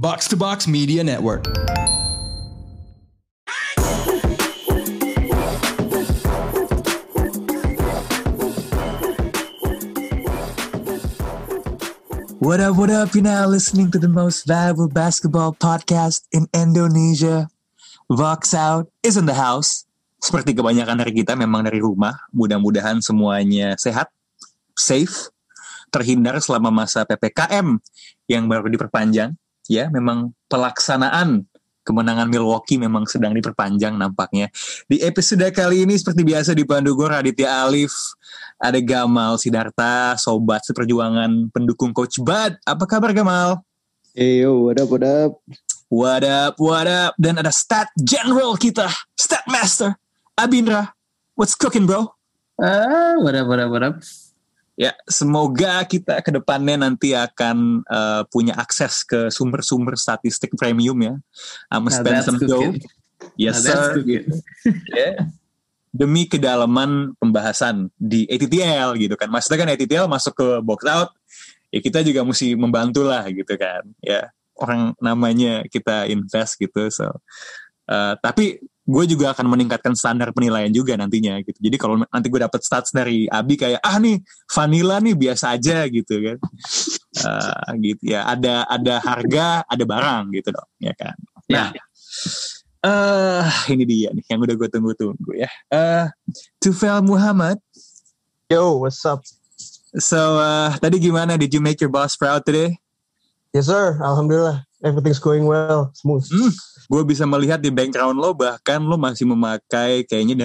Box to Box Media Network. What up, you're now listening to the most valuable basketball podcast in Indonesia. Vox Out is in the house. Seperti kebanyakan dari kita memang dari rumah. Mudah-mudahan semuanya sehat, safe, terhindar selama masa PPKM yang baru diperpanjang. Ya, memang pelaksanaan kemenangan Milwaukee memang sedang diperpanjang nampaknya. Di episode kali ini seperti biasa dipandu gue Raditya Alif, ada Gamal Sidarta, sobat seperjuangan pendukung Coach Bud. Apa kabar Gamal? Hey yo, what up? What up? Dan ada stat general kita, stat master, Abindra. What's cooking bro? What up? Ya, semoga kita ke depannya nanti akan punya akses ke sumber-sumber statistik premium ya. I'm spend some dough. Yes sir. Yeah. Demi kedalaman pembahasan di ATTL gitu kan. Maksudnya kan ATTL masuk ke box out, ya kita juga mesti membantu lah gitu kan. Ya, orang namanya kita invest gitu. So, tapi gue juga akan meningkatkan standar penilaian juga nantinya gitu. Jadi kalau nanti gue dapet stats dari Abi kayak nih vanilla nih biasa aja gitu kan. Gitu ya, ada harga, ada barang gitu dong, ya kan. Nah, ini dia nih yang udah gue tunggu-tunggu ya. Tufel Muhammad. Yo, what's up? So, tadi gimana? Did you make your boss proud today? Yes sir, alhamdulillah. Everything's going well, smooth. Gue bisa melihat di background lo, bahkan lo masih memakai kayaknya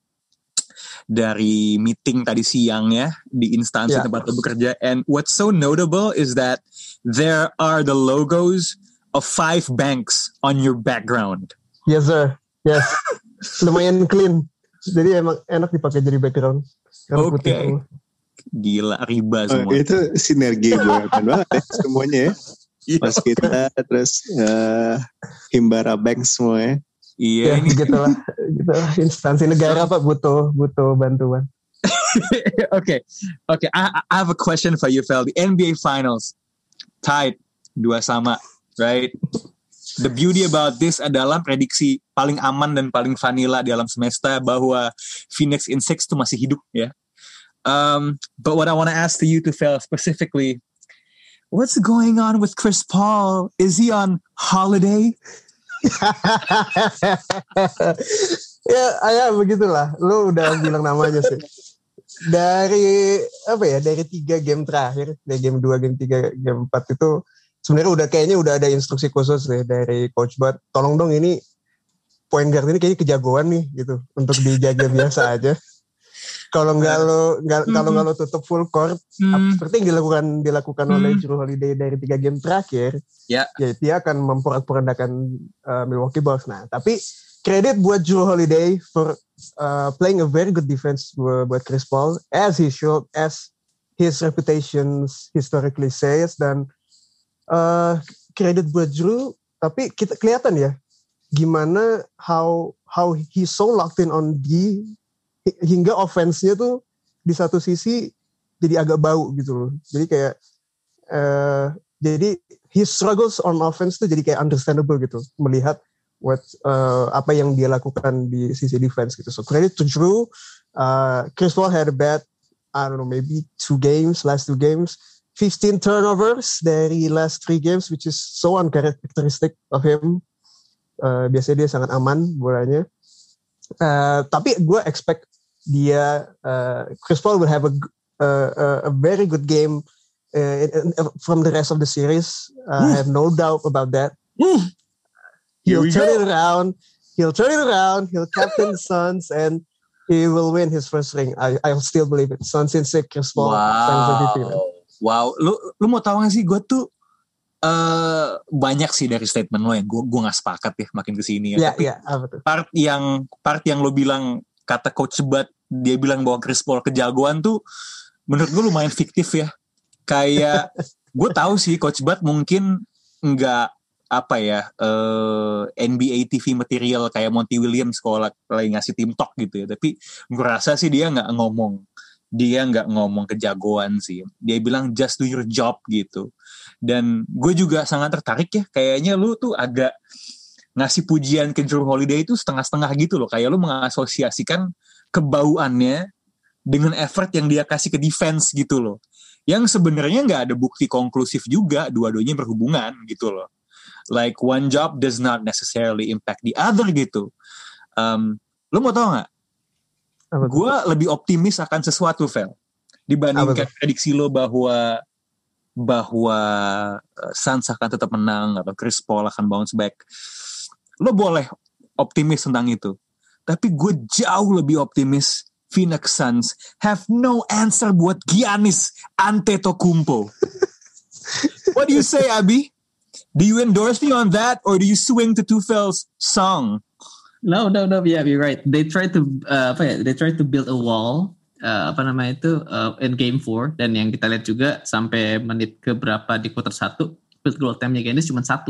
dari meeting tadi siang ya, di instansi tempat lo bekerja. And what's so notable is that there are the logos of 5 banks on your background. Yes sir, yes. Lumayan clean. Jadi emang enak dipakai jadi background. Oke. Gila, riba semua. Itu sinergi banget ya, semuanya ya. Pas kita terus Himbara Bank semua ya. Iya, gitulah. Instansi negara Pak butuh bantuan. Okay. I have a question for you, Fel. The NBA Finals tied 2-2, right? The beauty about this adalah prediksi paling aman dan paling vanilla di alam semesta bahwa Phoenix in 6 itu masih hidup ya. But what I want to ask to you, to Fel, specifically, what's going on with Chris Paul? Is he on holiday? ya begitulah. Lu udah bilang namanya sih. Dari 3 game terakhir, dari game 2, game 3, game 4 itu sebenarnya kayaknya udah ada instruksi khusus deh dari Coach Bud. Tolong dong ini point guard ini kayaknya kejagoan nih gitu untuk dijaga biasa aja. Kalau nggak lo tutup full court, seperti yang dilakukan oleh Jrue Holiday dari 3 game terakhir, ya dia akan memporak-porandakan Milwaukee Bucks. Nah, tapi kredit buat Jrue Holiday for playing a very good defense buat Chris Paul, as he showed, as his reputation historically says, dan kredit buat Jrue. Tapi kita kelihatan ya gimana how he so locked in on D, hingga offense-nya tuh di satu sisi jadi agak bau gitu loh. Jadi kayak jadi his struggles on offense tuh jadi kayak understandable gitu, melihat apa yang dia lakukan di sisi defense gitu. So credit to Jrue. Chris Paul had a bad, I don't know, maybe last 2 games, 15 turnovers dari last 3 games, which is so uncharacteristic of him. Biasanya dia sangat aman bolanya. Tapi gue expect Chris Paul will have a very good game from the rest of the series. I have no doubt about that. He'll turn it around. He'll captain the Suns and he will win his first ring. I'll still believe it. Suns in 6, Chris Paul. Wow. Lu mau tahu gak sih, gue tuh banyak sih dari statement lo yang gue nggak sepakat ya makin kesini ya. Tapi part yang lo bilang kata Coach Bud, dia bilang bahwa Chris Paul kejagoan tuh menurut gue lumayan fiktif ya. Kayak gue tahu sih Coach Bud mungkin nggak NBA TV material kayak Monty Williams kalau lagi ngasih tim talk gitu ya. Tapi gue rasa sih dia nggak ngomong kejagoan sih. Dia bilang just do your job gitu. Dan gue juga sangat tertarik ya, kayaknya lu tuh agak ngasih pujian ke Jrue Holiday itu setengah-setengah gitu loh. Kayak lu mengasosiasikan kebauannya dengan effort yang dia kasih ke defense gitu loh. Yang sebenarnya gak ada bukti konklusif juga dua-duanya berhubungan gitu loh. Like one job does not necessarily impact the other gitu. Lu mau tau gak? Gue lebih optimis akan sesuatu, Vel, dibandingkan prediksi lo bahwa Suns akan tetap menang atau Chris Paul akan bounce back. Lo boleh optimis tentang itu, tapi gue jauh lebih optimis Phoenix Suns have no answer buat Giannis Antetokounmpo. What do you say, Abi? Do you endorse me on that, or do you swing to Tufel's song? No. Yeah, you're right. They tried to build a wall. In Game 4, dan yang kita lihat juga sampai menit ke berapa di quarter 1 field goal attempt-nya Giannis cuma 1.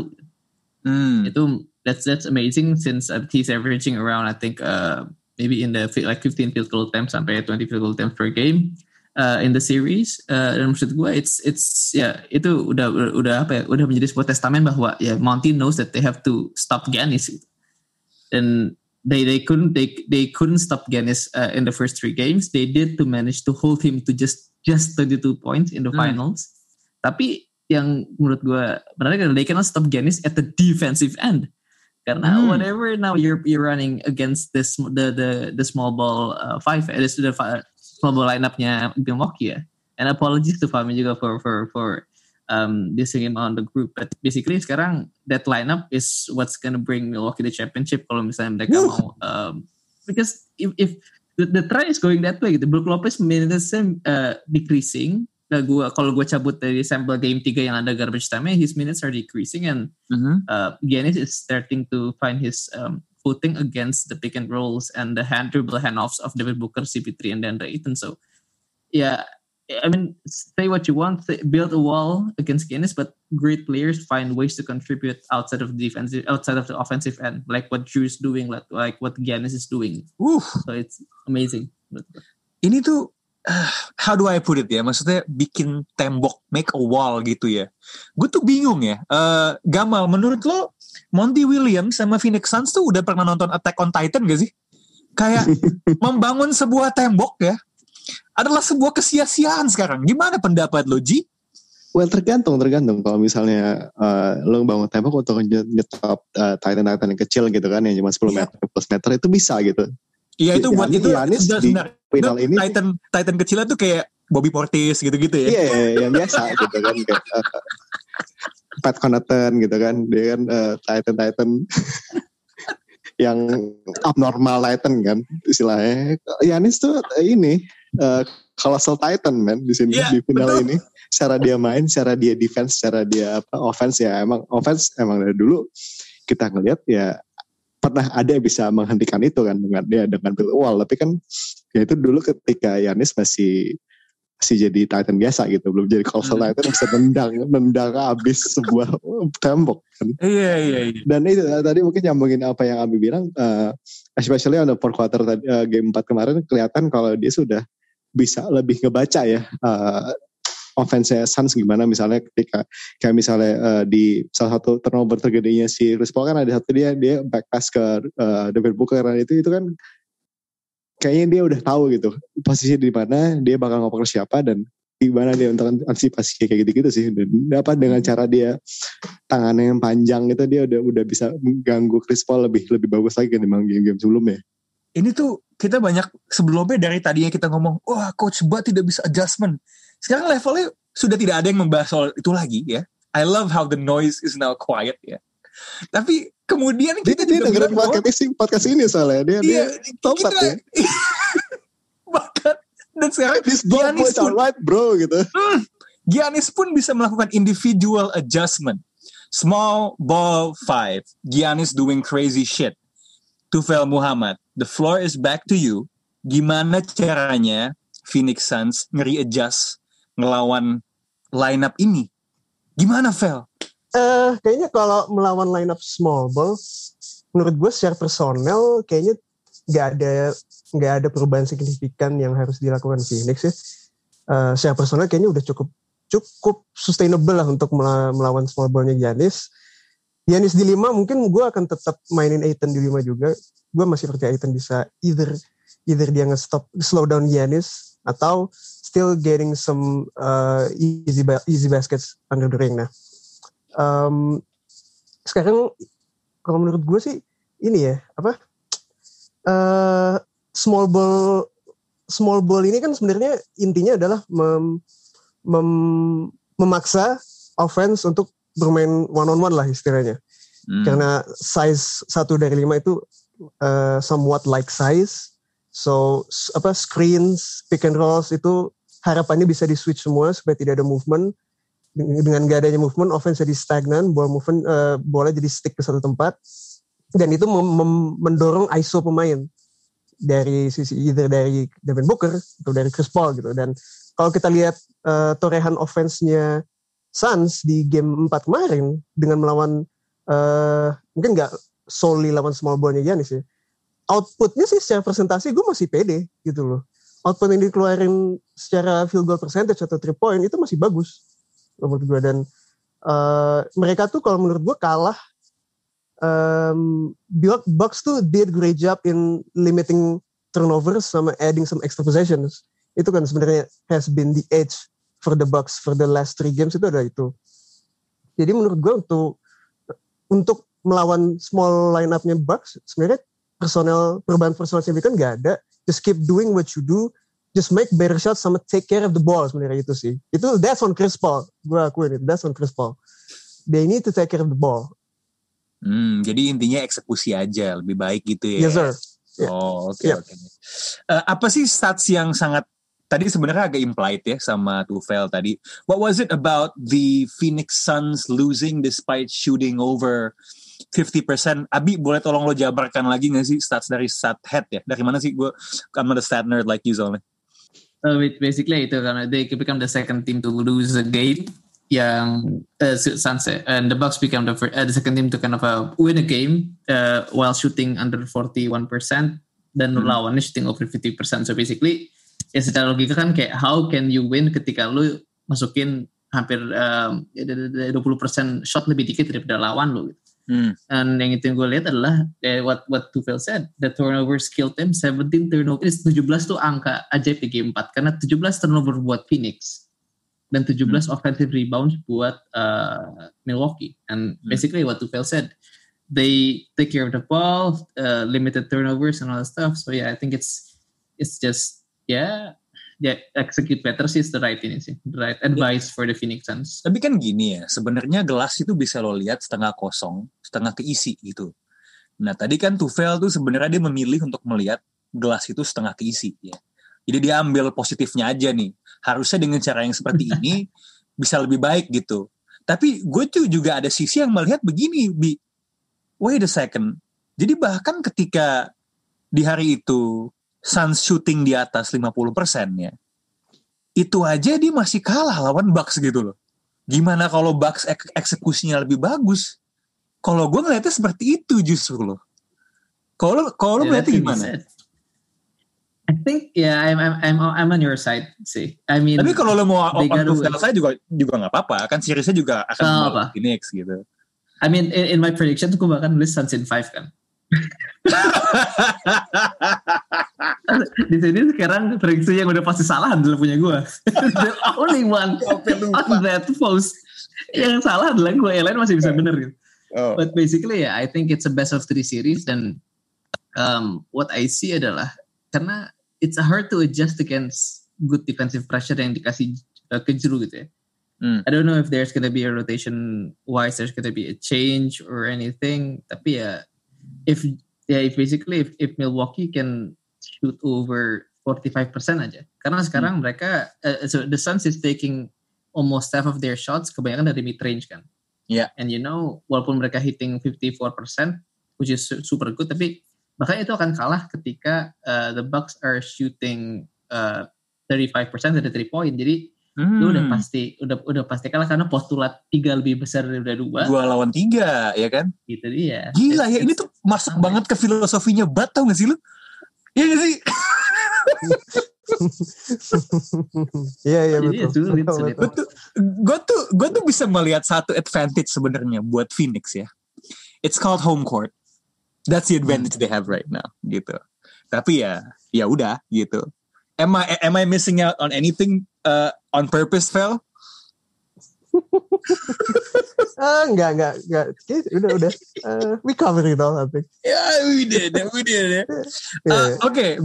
Itu that's amazing since he's averaging around I think maybe in the like 15 field goal attempts sampai 20 field goal attempts per game in the series. Dan maksud gue itu udah menjadi sebuah testament bahwa Monty knows that they have to stop Giannis. Dan They couldn't stop Giannis in the first 3 games. They did to manage to hold him to just 32 points in the finals. Tapi yang menurut gue menarik adalah they cannot stop Giannis at the defensive end. Karena whatever now you're running against the small ball small ball lineup-nya Milwaukee ya. And apologies to Fahmi juga for dissing him on the group, but basically sekarang that lineup is what's gonna bring Milwaukee the championship kalau misalnya mereka mau because if the trend is going that way gitu. Brook Lopez minutes decreasing. Kalau gue cabut dari sampel game 3 yang ada garbage time-nya, his minutes are decreasing and Giannis is starting to find his footing against the pick and rolls and the dribble handoffs of David Booker, CP3 and DeAndre Ayton. So I mean, say what you want, build a wall against Giannis, but great players find ways to contribute outside of the offensive end, like what Drew is doing, like what Giannis is doing. So it's amazing. Ini tuh, how do I put it ya? Maksudnya bikin tembok, make a wall gitu ya. Gue tuh bingung ya. Gamal, menurut lo, Monty Williams sama Phoenix Suns tuh udah pernah nonton Attack on Titan gak sih? Kayak membangun sebuah tembok ya. Adalah sebuah kesia-siaan sekarang. Gimana pendapat lo, Ji? Well, tergantung. Kalau misalnya lo bangun tembok untuk nyetop Titan yang kecil gitu kan, yang cuma 10 meter plus meter, itu bisa gitu. Iya, itu buat itu final ini Titan kecilnya tuh kayak Bobby Portis gitu-gitu ya. Iya, yang biasa gitu kan, kayak Pat Connaughton gitu kan, dia kan Titan yang abnormal Titan kan istilahnya. Giannis tuh ini colossal Titan man di sini di final betul. Ini secara dia main, secara dia defense, secara dia offense ya emang dari dulu kita ngelihat ya pernah ada yang bisa menghentikan itu kan dengan build wall, tapi kan ya itu dulu ketika Giannis masih jadi Titan biasa gitu, belum jadi colossal Titan bisa nendang habis sebuah tembok kan. Iya. Dan itu tadi mungkin nyambungin apa yang Abi bilang, especially on the fourth quarter game 4 kemarin kelihatan kalau dia sudah bisa lebih ngebaca ya offense Suns gimana, misalnya ketika kayak misalnya di salah satu turnover tergedenya si Chris Paul kan ada satu dia back pass ke David Booker, itu kan kayaknya dia udah tahu gitu posisi di mana dia bakal ngoper siapa dan gimana dia untuk antisipasi kayak gitu-gitu sih. Dan dapat dengan cara dia tangannya yang panjang itu dia udah bisa mengganggu Chris Paul lebih bagus lagi dibanding game-game sebelumnya. Ini tuh kita banyak sebelumnya dari tadinya kita ngomong, wah Coach Bud tidak bisa adjustment. Sekarang levelnya sudah tidak ada yang membahas soal itu lagi ya. I love how the noise is now quiet ya. Tapi kemudian kita dia dengerin podcast ini soalnya dia topat ya. Bahkan dan sekarang Giannis pun alright bro gitu. Giannis pun bisa melakukan individual adjustment. Small ball 5. Giannis doing crazy shit. Tufel Muhammad, the floor is back to you. Gimana caranya Phoenix Suns ngeri-adjust ngelawan lineup ini? Gimana, Fel? Kayaknya kalau melawan lineup small ball, menurut gue secara personel kayaknya nggak ada perubahan signifikan yang harus dilakukan Phoenix ya. Secara personel kayaknya udah cukup sustainable lah untuk melawan small ballnya Giannis. Giannis di 5 mungkin gue akan tetap mainin Ayton di 5 juga. Gue masih percaya Ayton bisa either dia slow down Giannis atau still getting some easy baskets under the ring. Nah, sekarang kalau menurut gue sih ini ya small ball ini kan sebenarnya intinya adalah memaksa offense untuk bermain one on one lah istilahnya. Karena size 1 dari 5 itu somewhat like size. So screens, pick and rolls itu harapannya bisa di switch semua supaya tidak ada movement. Dengan gak adanya movement, offense jadi stagnan, bola jadi stick ke satu tempat. Dan itu mendorong ISO pemain dari sisi either dari Devin Booker atau dari Chris Paul gitu. Dan kalau kita lihat torehan offense-nya Suns di game 4 kemarin dengan melawan mungkin gak solely lawan small ball-nya Giannis ya. Outputnya sih secara presentasi gue masih pede gitu loh. Output yang dikeluarin secara field goal percentage atau 3 point itu masih bagus menurut gue. Dan mereka tuh kalau menurut gue kalah. Bucks tuh did great job in limiting turnovers sama adding some extra possessions. Itu kan sebenarnya has been the edge for the Bucks for the last 3 games itu ada itu. Jadi menurut gue untuk melawan small line-up-nya Bucks sebenarnya perubahan personal signifikan gak ada. Just keep doing what you do. Just make better shots sama take care of the ball sebenarnya itu sih. That's on Chris Paul. Gue akuin itu. That's on Chris Paul. They need to take care of the ball. Jadi intinya eksekusi aja lebih baik gitu ya. Yes sir. Yeah. Oh oke. Apa sih stats yang sangat tadi sebenarnya agak implied ya sama Tufel tadi. What was it about the Phoenix Suns losing despite shooting over 50%? Abi boleh tolong lo jabarkan lagi gak sih stats dari Stathead ya? Dari mana sih? I'm not a stat nerd like you soalnya. Basically itu karena they become the second team to lose a game yang Suns and the Bucks become the second team to kind of win a game while shooting under 41% dan lawannya shooting over 50%. So basically ya secara logika kan kayak how can you win ketika lu masukin hampir 20% shot lebih dikit daripada lawan lu gitu. Dan yang itu yang gue lihat adalah what Tufel said, the turnovers killed them. 17 turnovers, 17 tuh angka ajaib di game 4 karena 17 turnover buat Phoenix dan 17 offensive rebounds buat Milwaukee. And basically what Tufel said, they take care of the ball, limited turnovers and all that stuff. So yeah, I think it's just execute better sih is the right advice for the Phoenix Suns. Tapi kan gini ya, sebenarnya gelas itu bisa lo lihat setengah kosong, setengah keisi gitu. Nah tadi kan Tufel tuh sebenarnya dia memilih untuk melihat gelas itu setengah keisi ya. Jadi dia ambil positifnya aja nih. Harusnya dengan cara yang seperti ini bisa lebih baik gitu. Tapi gue tuh juga ada sisi yang melihat begini, wait a second. Jadi bahkan ketika di hari itu Suns shooting di atas 50% ya, itu aja dia masih kalah lawan Bucks gitu loh. Gimana kalau Bucks eksekusinya lebih bagus? Kalau gue ngeliatnya seperti itu justru loh. Kalau lo ngeliatnya gimana? I think I'm on your side sih. I mean, tapi kalau lo mau on Tufel saya juga nggak apa-apa. Kan seriesnya juga akan kembali Phoenix gitu. I mean in my prediction tuh gue bahkan nulis Suns in 5 kan. Di sini sekarang prediksi yang udah pasti salah adalah punya gue. The only one on that post yang salah adalah gue. Yang lain masih bisa bener gitu. But basically I think it's a best of 3 series dan what I see adalah karena it's hard to adjust against good defensive pressure yang dikasih ke Jrue gitu ya. I don't know if there's gonna be a rotation wise, there's gonna be a change or anything. Tapi if Milwaukee can shoot over 45% aja. Karena sekarang mereka so the Suns is taking almost half of their shots kebanyakan dari mid range kan. Yeah. And walaupun mereka hitting 54%, which is super good, tapi makanya itu akan kalah ketika the Bucks are shooting 35% dari 3 point. Jadi lu udah pasti kalah karena postulat 3 lebih besar daripada 2. 2 lawan 3 ya kan? Itu dia. Gila ya, ini tuh masuk banget ke filosofinya Bat, tau gak sih lu? Iya gak sih? Iya betul. Betul. gue tuh bisa melihat satu advantage sebenarnya buat Phoenix ya. It's called home court. That's the advantage they have right now gitu. Tapi ya udah gitu. Am I missing out on anything on purpose, Fel? Enggak. Udah. We covered it all, I think. Yeah, we did. Okay,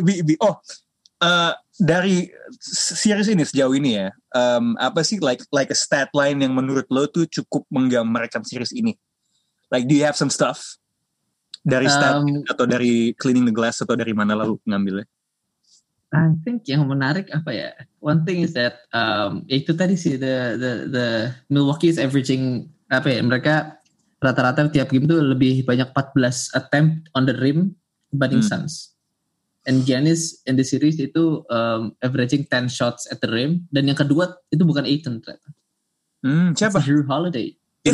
dari series ini sejauh ini ya, apa sih like a stat line yang menurut lo tuh cukup menggambarkan series ini? Like, do you have some stuff dari stat atau dari cleaning the glass atau dari mana lalu ngambilnya? I think yang menarik apa ya? One thing is that itu tadi sih the Milwaukee is averaging apa ya? Mereka rata-rata tiap game tuh lebih banyak 14 attempt on the rim dibanding Suns. And Giannis in the series itu averaging 10 shots at the rim, dan yang kedua itu bukan Ayton ternyata. Siapa? Drew Holiday.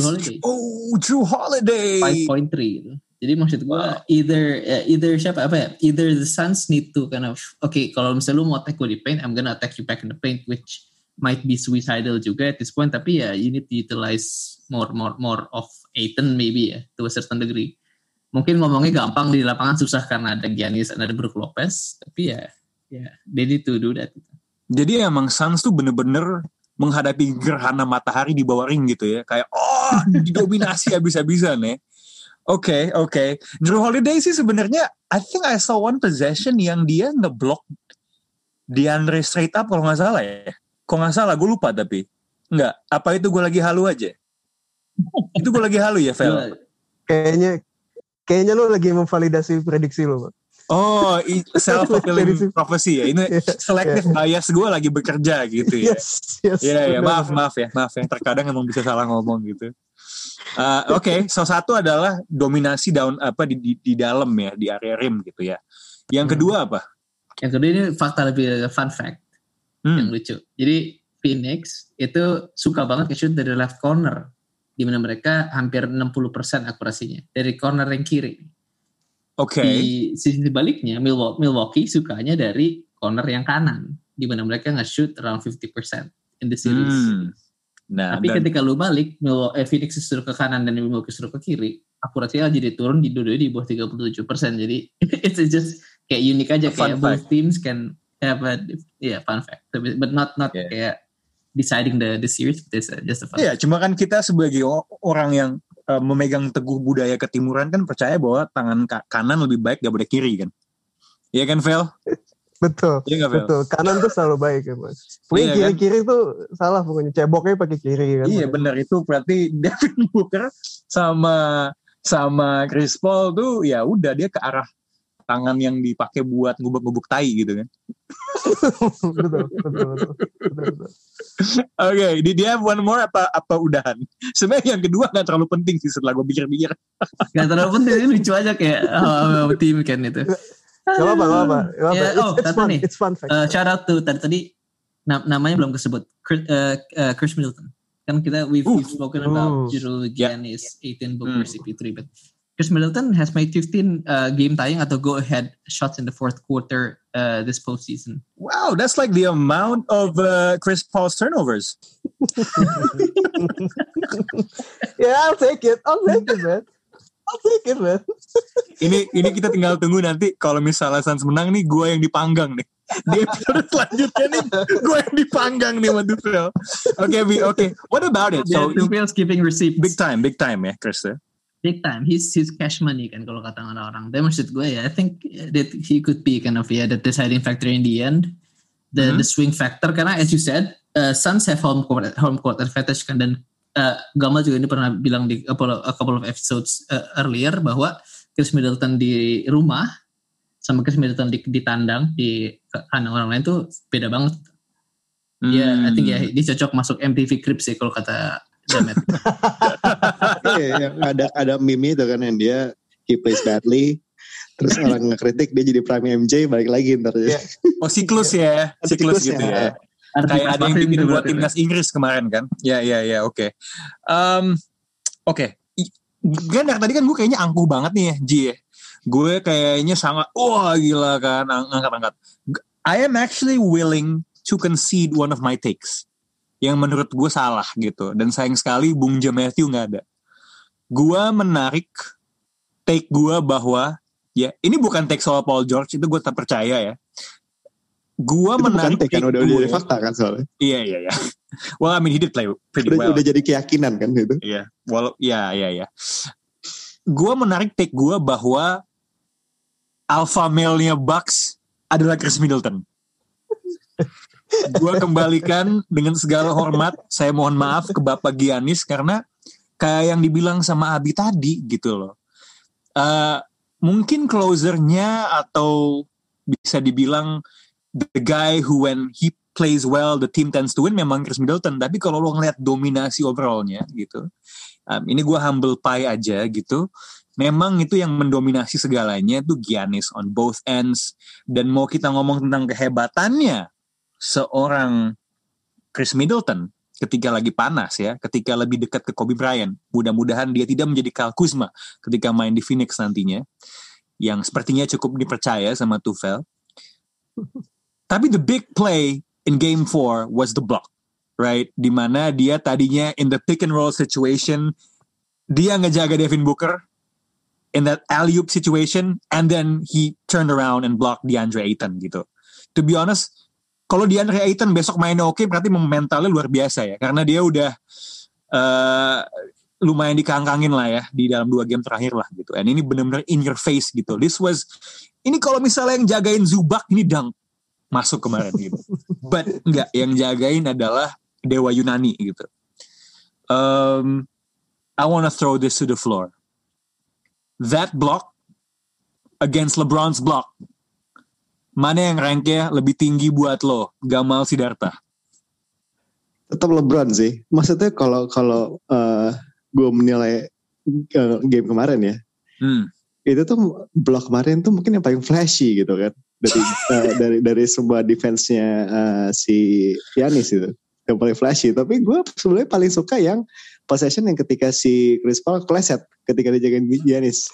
Drew Holiday. 5.3 itu. Jadi maksud gue either siapa apa ya? Either the Suns need to kind of kalau misalnya lu mau attack gue di paint, I'm gonna attack you back in the paint, which might be suicidal juga at this point. Tapi ya you need to utilize more of Ayton maybe ya, to a certain degree. Mungkin ngomongnya gampang, di lapangan susah karena ada Giannis dan ada Brook Lopez. Tapi ya they need to do that. Jadi emang Suns tuh bener-bener menghadapi gerhana matahari di bawah ring gitu ya. Kayak didominasi habis-habisan ya. Oke. Drew Holiday sih sebenarnya, I think I saw one possession yang dia ngeblok DeAndre straight up kalau nggak salah ya. Kok nggak salah, gue lupa tapi. Nggak, apa itu gue lagi halu aja? Itu gue lagi halu ya, Vel? Kayaknya lo lagi memvalidasi prediksi lo, Pak. Oh, self-fulfilling prophecy ya. Ini selective bias gue lagi bekerja gitu ya. Yes. Ya, maaf ya. Terkadang emang bisa salah ngomong gitu. Salah satu adalah dominasi di dalam ya, di area rim gitu ya. Yang kedua apa? Yang kedua ini fakta lebih fun fact yang lucu. Jadi Phoenix itu suka banget nge-shoot dari left corner, di mana mereka hampir 60% akurasinya dari corner yang kiri. Di sisi baliknya Milwaukee sukanya dari corner yang kanan, di mana mereka nge-shoot around 50% in the series. Tapi ketika lu balik, Phoenix suruh ke kanan dan Milwaukee suruh ke kiri, akurasinya jadi turun di dua-duanya di bawah 37%. Jadi it's just kayak unik aja, kayak both teams can have a fun fact, but not kayak deciding the series. It's just a fun fact. Cuma kan kita sebagai orang yang memegang teguh budaya ketimuran kan percaya bahwa tangan kanan lebih baik daripada kiri kan. Iya kan, Vel? Betul. Kanan tuh selalu baik ya, Mas. Pokoknya kiri-kiri tuh salah pokoknya. Ceboknya pakai kiri kan. Iya, benar, itu berarti Devin Booker sama Chris Paul tuh ya udah dia ke arah tangan yang dipakai buat ngubuk-ngubuk tai gitu kan. Betul. Oke, did you have one more apa udahan? Sebenarnya yang kedua gak terlalu penting sih setelah gue pikir-pikir. Gak terlalu penting, ini lucu aja kayak tim kan itu. Gak apa-apa. It's fun fact. Shout out to tadi namanya belum kesebut, Chris Middleton. Kan we've spoken about Drew, Giannis, Ayton, Booker, CP3, but Chris Middleton has made 15 game tying atau go ahead shots in the fourth quarter this postseason. Wow, that's like the amount of Chris Paul's turnovers. I'll take it, man. Ini kita tinggal tunggu nanti kalau misalnya Suns menang nih, gue yang dipanggang nih. Di episode selanjutnya nih, gue yang dipanggang nih sama Dufel. Oke. What about it? So Dufel's giving receipts. Big time ya, Chris. Big time. He's cash money kan kalau kata orang. Dan maksud gue I think that he could be kind of the deciding factor in the end. The swing factor, karena as you said, Suns have home court advantage kan, dan Gamal juga ini pernah bilang di a couple of episodes earlier bahwa Chris Middleton di rumah sama Chris Middleton di tandang di kandang orang lain tuh beda banget. I think dia cocok masuk MTV Cribs sih kalau kata Jamet. Ada meme itu kan yang dia he plays badly, terus orang ngekritik dia jadi prime MJ balik lagi ntar. Siklus gitu ya. Kayak ada yang bikin buat timnas Inggris kemarin kan. Ya, oke. Kan tadi kan gue kayaknya angkuh banget nih ya, Ji ya. Gue kayaknya sangat gila kan, angkat. I am actually willing to concede one of my takes. yang menurut gue salah gitu. Dan sayang sekali Bung J. Matthew gak ada. Gue menarik take gue bahwa ya ini bukan take soal Paul George, itu gue tak percaya ya. Gue menarik take kan udah jadi fakta kan soalnya. Iya. Well, I mean he did play pretty well. Udah jadi keyakinan kan gitu. Iya. Well, iya. Gue menarik take gue bahwa alpha male-nya Bucks adalah Chris Middleton. Gue kembalikan dengan segala hormat, saya mohon maaf ke Bapak Giannis karena kayak yang dibilang sama Abi tadi gitu loh. Mungkin closernya atau bisa dibilang the guy who when he plays well the team tends to win memang Chris Middleton. Tapi kalau lo ngeliat dominasi overallnya gitu, ini gue humble pie aja gitu. Memang itu yang mendominasi segalanya itu Giannis on both ends. Dan mau kita ngomong tentang kehebatannya seorang Chris Middleton ketika lagi panas ya, ketika lebih dekat ke Kobe Bryant, mudah-mudahan dia tidak menjadi Kyle Kuzma ketika main di Phoenix nantinya, yang sepertinya cukup dipercaya sama Tuchel. Tapi the big play in Game 4 was the block, right? Dimana dia tadinya in the pick and roll situation, dia ngejaga Devin Booker in that alley-oop situation, and then he turned around and blocked DeAndre Ayton gitu. To be honest, kalau DeAndre Ayton besok mainnya oke, berarti mentalnya luar biasa ya. Karena dia udah lumayan dikangkangin lah ya di dalam 2 game terakhir lah gitu. And ini benar-benar in your face gitu. Ini kalau misalnya yang jagain Zubac ini dunk masuk kemarin gitu. But enggak, yang jagain adalah Dewa Yunani gitu. I wanna throw this to the floor. That block against LeBron's block, mana yang ranknya lebih tinggi buat lo, Gamal Sidarta? Tetap LeBron sih. Maksudnya kalau gue menilai game kemarin ya, itu tuh blok kemarin tuh mungkin yang paling flashy gitu kan, dari sebuah defense-nya si Giannis itu yang paling flashy. Tapi gue sebenarnya paling suka yang possession yang ketika si Chris Paul kleset ketika dia jagain Giannis.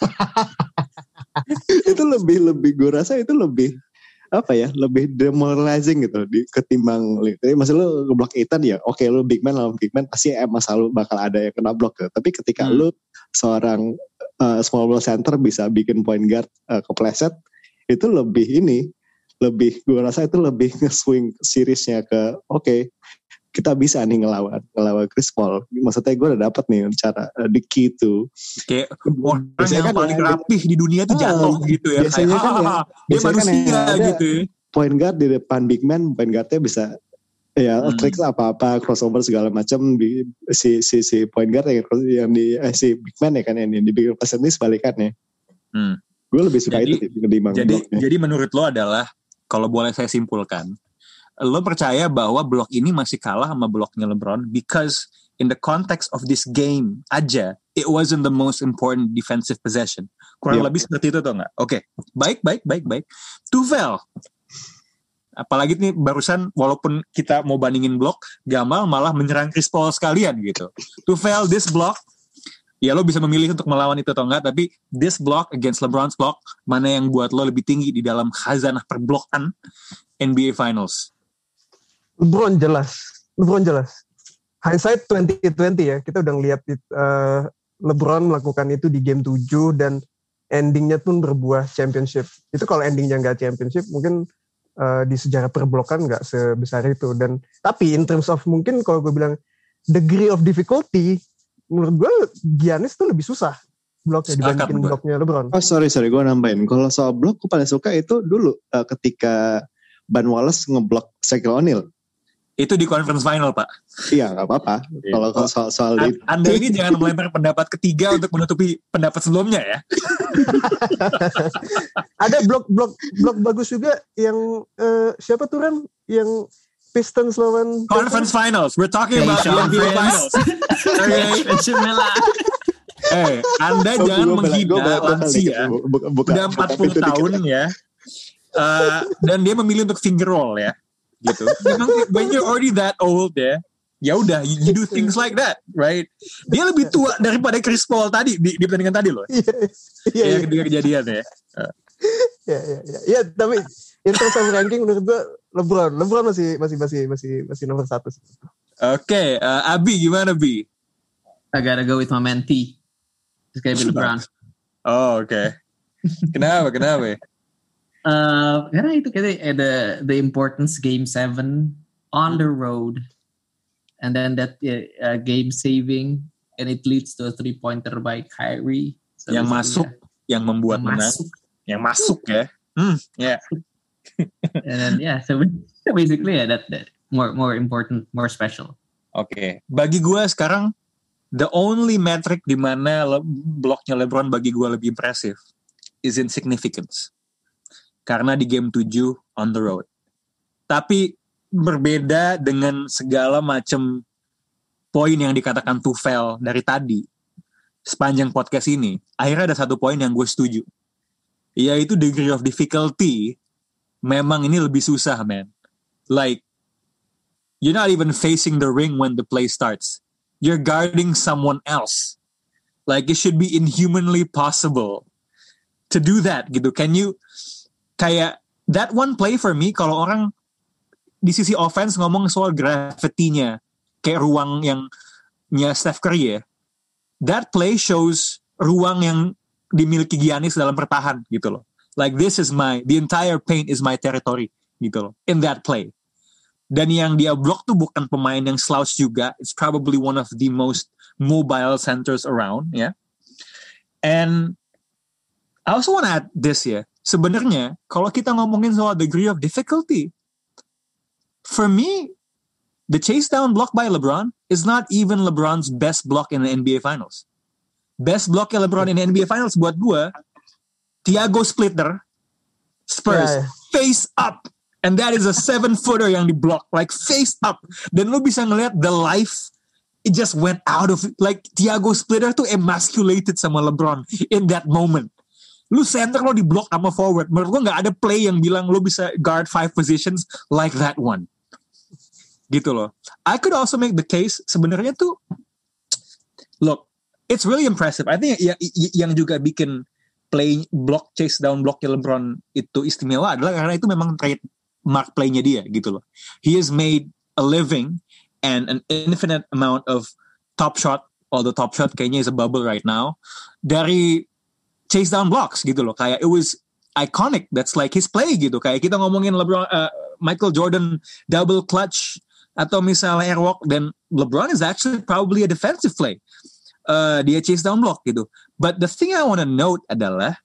Itu lebih gue rasa itu lebih lebih demoralizing gitu ketimbang, maksud lu ngeblok Ethan ya oke, lu big man lawan big man pasti emang selalu bakal ada yang kena blok gitu. Tapi ketika lu seorang small ball center bisa bikin point guard kepleset, itu lebih gue rasa itu lebih nge-swing seriesnya ke oke, kita bisa nih ngelawan Chris Paul. Maksudnya gue udah dapet nih cara the key to kayak orang yang paling rapih di dunia tuh jatuh gitu ya. Biasanya kan dia manusia gitu ya. Point guard di depan big man, point guardnya bisa ya tricks apa-apa, crossover segala macam di si point guard yang di si big man ya kan, yang di big person ini sebalikannya. Gue lebih suka itu ketimbang. Jadi menurut lo adalah, kalau boleh saya simpulkan, lo percaya bahwa blok ini masih kalah sama bloknya LeBron because in the context of this game aja, it wasn't the most important defensive possession. Kurang lebih seperti itu tuh nggak? Oke, baik. Tuchel, apalagi nih barusan walaupun kita mau bandingin blok, Gamal malah menyerang Chris Paul sekalian gitu. Tuchel, this block, ya lo bisa memilih untuk melawan itu atau enggak, tapi this block against LeBron's block, mana yang buat lo lebih tinggi di dalam khazanah perblokan NBA Finals? LeBron jelas. Hindsight 2020 ya, kita udah ngeliat LeBron melakukan itu di game 7 dan endingnya pun berbuah championship. Itu kalau endingnya nggak championship, mungkin di sejarah perblokan nggak sebesar itu. Dan tapi in terms of mungkin kalau gue bilang degree of difficulty, menurut gue Giannis tuh lebih susah bloknya dibandingin bloknya LeBron. Oh sorry gue nambahin. Kalau soal blok gue paling suka itu dulu ketika Ben Wallace ngeblok Shaquille O'Neal. Itu di conference final, Pak. Iya, nggak apa-apa. Kalau soal itu. Anda ini jangan melempar pendapat ketiga untuk menutupi pendapat sebelumnya ya. Ada blok bagus juga yang siapa tuh Ram? Yang Pistons lawan Conference Finals. We're talking about the NBA Finals. Anda jangan menghina lansia. Udah 40 tahun ya. Dan dia memilih untuk finger roll ya. Gitu. When you're already that old ya udah you do things like that, right? Dia lebih tua daripada Chris Paul tadi di pertandingan tadi loh. Iya. Ketika kejadian ya. Iya, tapi in terms of ranking menurut gue LeBron masih nomor 1 sih. Oke, Abi gimana Bi? I gotta go with my man T. It's gonna be LeBron. Oh, oke. Kenapa? Karena itu kayak the importance game 7 on the road, and then that game saving, and it leads to a 3-pointer by Kyrie. So yang masuk, yang membuat menang, yang masuk ya. Yeah. And then so basically that more important, more special. Oke. Bagi gue sekarang the only metric di mana bloknya LeBron bagi gue lebih impresif is in significance. Karena di game 7 on the road. Tapi berbeda dengan segala macam poin yang dikatakan Tufel dari tadi sepanjang podcast ini. Akhirnya ada satu poin yang gue setuju. Yaitu degree of difficulty memang ini lebih susah, man. Like, you're not even facing the ring when the play starts. You're guarding someone else. Like, it should be inhumanly possible to do that, gitu. Can you, kayak, that one play for me, kalau orang di sisi offense ngomong soal gravity-nya, kayak ruang yang Steph Curry ya, that play shows ruang yang dimiliki Giannis dalam bertahan, gitu loh. Like, the entire paint is my territory, gitu loh, in that play. Dan yang dia block tuh bukan pemain yang slouch juga. It's probably one of the most mobile centers around, ya. And I also want to add this ya. Sebenarnya, kalau kita ngomongin soal degree of difficulty, for me, the chase down block by LeBron is not even LeBron's best block in the NBA Finals. Best blocknya LeBron in the NBA Finals buat gue, Thiago Splitter, Spurs, face up. And that is a 7-footer yang di-block, like face up. Dan lu bisa ngeliat the life, it just went out of, like Thiago Splitter tuh emasculated sama LeBron in that moment. Lu center lo di-block sama forward. Menurut gua gak ada play yang bilang lu bisa guard 5 positions like that one. Gitu loh. I could also make the case, sebenarnya tuh, look, it's really impressive. I think yang juga bikin play block, chase down blocknya LeBron itu istimewa adalah karena itu memang trademark playnya dia gitu loh. He has made a living and an infinite amount of top shot, although top shot kayaknya is a bubble right now, dari chase down blocks gitu loh. Kayak it was iconic, that's like his play gitu. Kayak kita ngomongin LeBron, Michael Jordan double clutch atau misalnya airwalk, dan LeBron is actually probably a defensive play. Dia chase down block gitu. But the thing I want to note adalah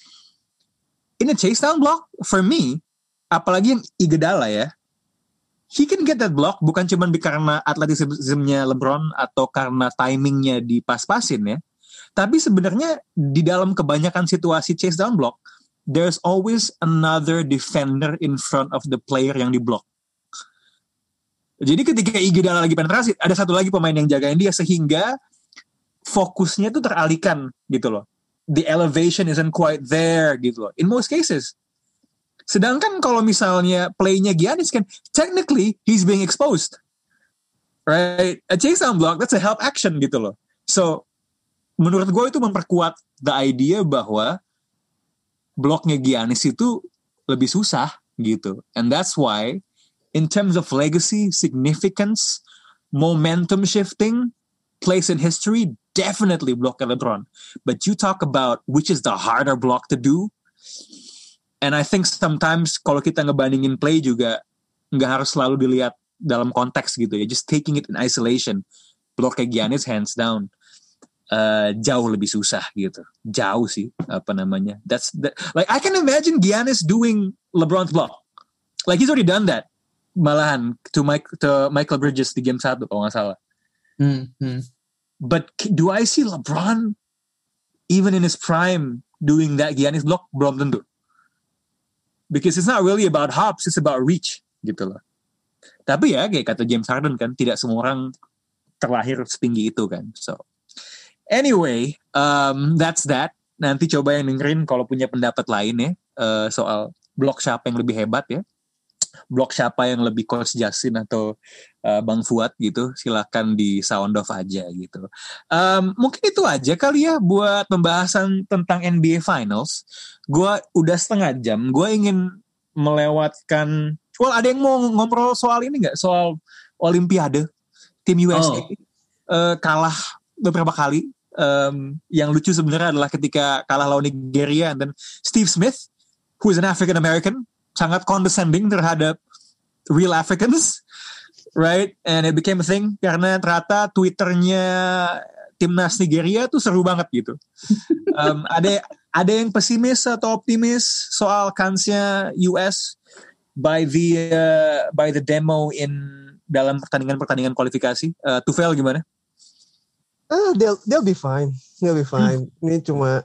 in a chase down block, for me, apalagi yang Iguodala ya, he can get that block bukan cuma karena atletismnya LeBron atau karena timingnya di pas-pasin ya, tapi sebenarnya di dalam kebanyakan situasi chase down block, there's always another defender in front of the player yang di block. Jadi ketika Iguodala lagi penetrasi, ada satu lagi pemain yang jagain dia sehingga fokusnya tuh teralihkan gitu loh. The elevation isn't quite there gitu loh. In most cases. Sedangkan kalau misalnya playnya Giannis kan, technically he's being exposed. Right? A chase down block, that's a help action gitu loh. So, menurut gue itu memperkuat the idea bahwa bloknya Giannis itu lebih susah gitu. And that's why, in terms of legacy, significance, momentum shifting, place in history, definitely block LeBron. But you talk about which is the harder block to do, and I think sometimes kalau kita ngebandingin play juga nggak harus selalu dilihat dalam konteks gitu ya. Just taking it in isolation, blocknya Giannis hands down jauh lebih susah gitu. Jauh sih apa namanya. Like I can imagine Giannis doing LeBron's block. Like he's already done that. Malahan to Michael Bridges di game 1 kalau nggak salah. But do I see LeBron even in his prime doing that Giannis block? Belum tentu. Because it's not really about hops, it's about reach gitu loh. Tapi ya kayak kata James Harden kan, tidak semua orang terlahir setinggi itu kan. So anyway, that's that. Nanti coba yang dengerin kalau punya pendapat lain ya soal blok siapa yang lebih hebat ya. Blok siapa yang lebih Coach Justin atau Bang Fuad gitu, silakan di sound off aja gitu. Mungkin itu aja kali ya buat pembahasan tentang NBA Finals. Gue udah setengah jam, gue ingin melewatkan, ada yang mau ngobrol soal ini gak? Soal Olimpiade? tim USA kalah beberapa kali. Yang lucu sebenarnya adalah ketika kalah lawan Nigeria, dan Steve Smith, who is an African American, sangat condescending terhadap real Africans, right? And it became a thing karena ternyata Twitternya timnas Nigeria tuh seru banget gitu. Ada yang pesimis atau optimis soal kansnya US by the demo dalam pertandingan kualifikasi. Tufel gimana? They'll be fine. Ini cuma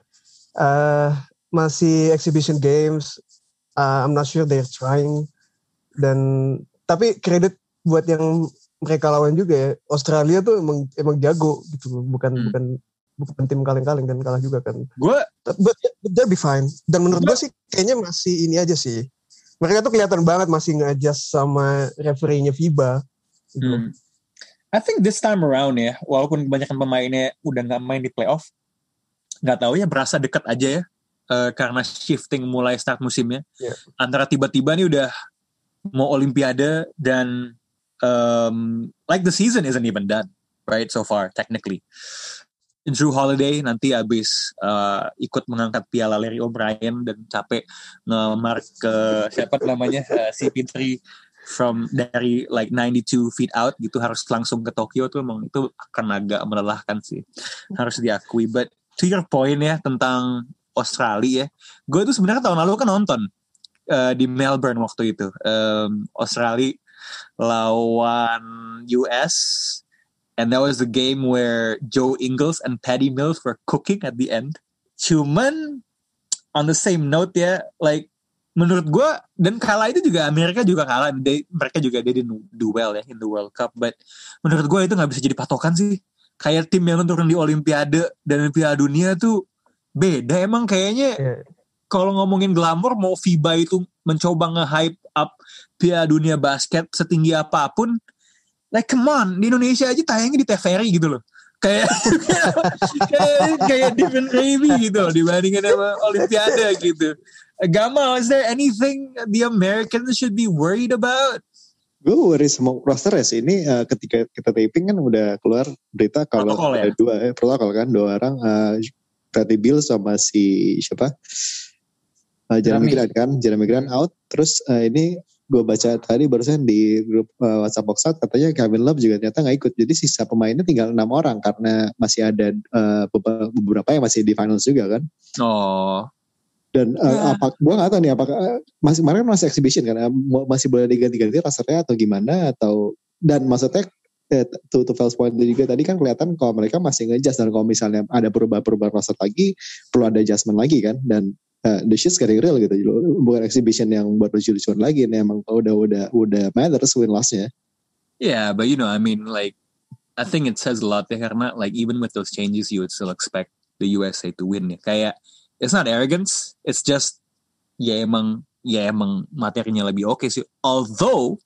masih exhibition games. I'm not sure they're trying. Tapi kredit buat yang mereka lawan juga ya. Australia tuh emang jago gitu. Bukan tim kaleng-kaleng kan, kalah juga kan. But they'll be fine. Dan menurut gue sih kayaknya masih ini aja sih. Mereka tuh kelihatan banget masih nge-adjust sama referee-nya FIBA gitu. I think this time around ya, walaupun kebanyakan pemainnya udah gak main di playoff, gak tahu ya, berasa dekat aja ya, karena shifting mulai start musimnya. Yeah. Antara tiba-tiba nih udah mau Olimpiade dan like the season isn't even done, right, so far, technically. Drew Holiday nanti abis ikut mengangkat piala Larry O'Brien dan capek nge-mark ke siapa namanya, CP3 dari like 92 feet out gitu, harus langsung ke Tokyo tuh, emang itu akan agak melelahkan sih, harus diakui. But to your point ya tentang Australia ya, gue tuh sebenarnya tahun lalu kan nonton di Melbourne waktu itu, Australia lawan US, and that was the game where Joe Ingles and Patty Mills were cooking at the end. Cuman on the same note ya, like menurut gue, dan kalah itu juga Amerika juga kalah, mereka juga didn't do well ya in the World Cup, but menurut gue itu gak bisa jadi patokan sih. Kayak tim yang turun di Olimpiade dan Piala Dunia tuh beda emang kayaknya. Kalau ngomongin glamor, mau FIBA itu mencoba nge-hype up Piala Dunia basket setinggi apapun, like come on, di Indonesia aja tayangnya di TVRI gitu loh. Kayak different gravy gitu loh dibandingin sama Olimpiade gitu. Gamal, is there anything the Americans should be worried about? Gue worry sama roster ya sih. Ini ketika kita taping kan udah keluar berita kalau ada protokol kan, dua orang, Bradley Beal sama si siapa? Jeremy Grant out. Terus ini gue baca tadi barusan di grup WhatsApp Box Out, katanya Kevin Love juga ternyata gak ikut. Jadi sisa pemainnya tinggal 6 orang karena masih ada beberapa yang masih di finals juga kan. Oh. Dan gue gak tahu nih apakah kemarin masih exhibition kan, masih boleh diganti-ganti rosternya atau gimana, atau, dan maksudnya to Phil's point juga tadi kan kelihatan kalau mereka masih nge-adjust, dan kalau misalnya ada perubahan roster lagi perlu ada adjustment lagi kan, dan the shit's getting real gitu, bukan exhibition yang buat lucu-lucuan lagi nih, emang udah matters win loss-nya. Yeah, but you know, I mean, like, I think it says a lot ya, karena like even with those changes you would still expect the USA to win ya. Kayak it's not arrogance, it's just ya emang materinya lebih oke sih. Although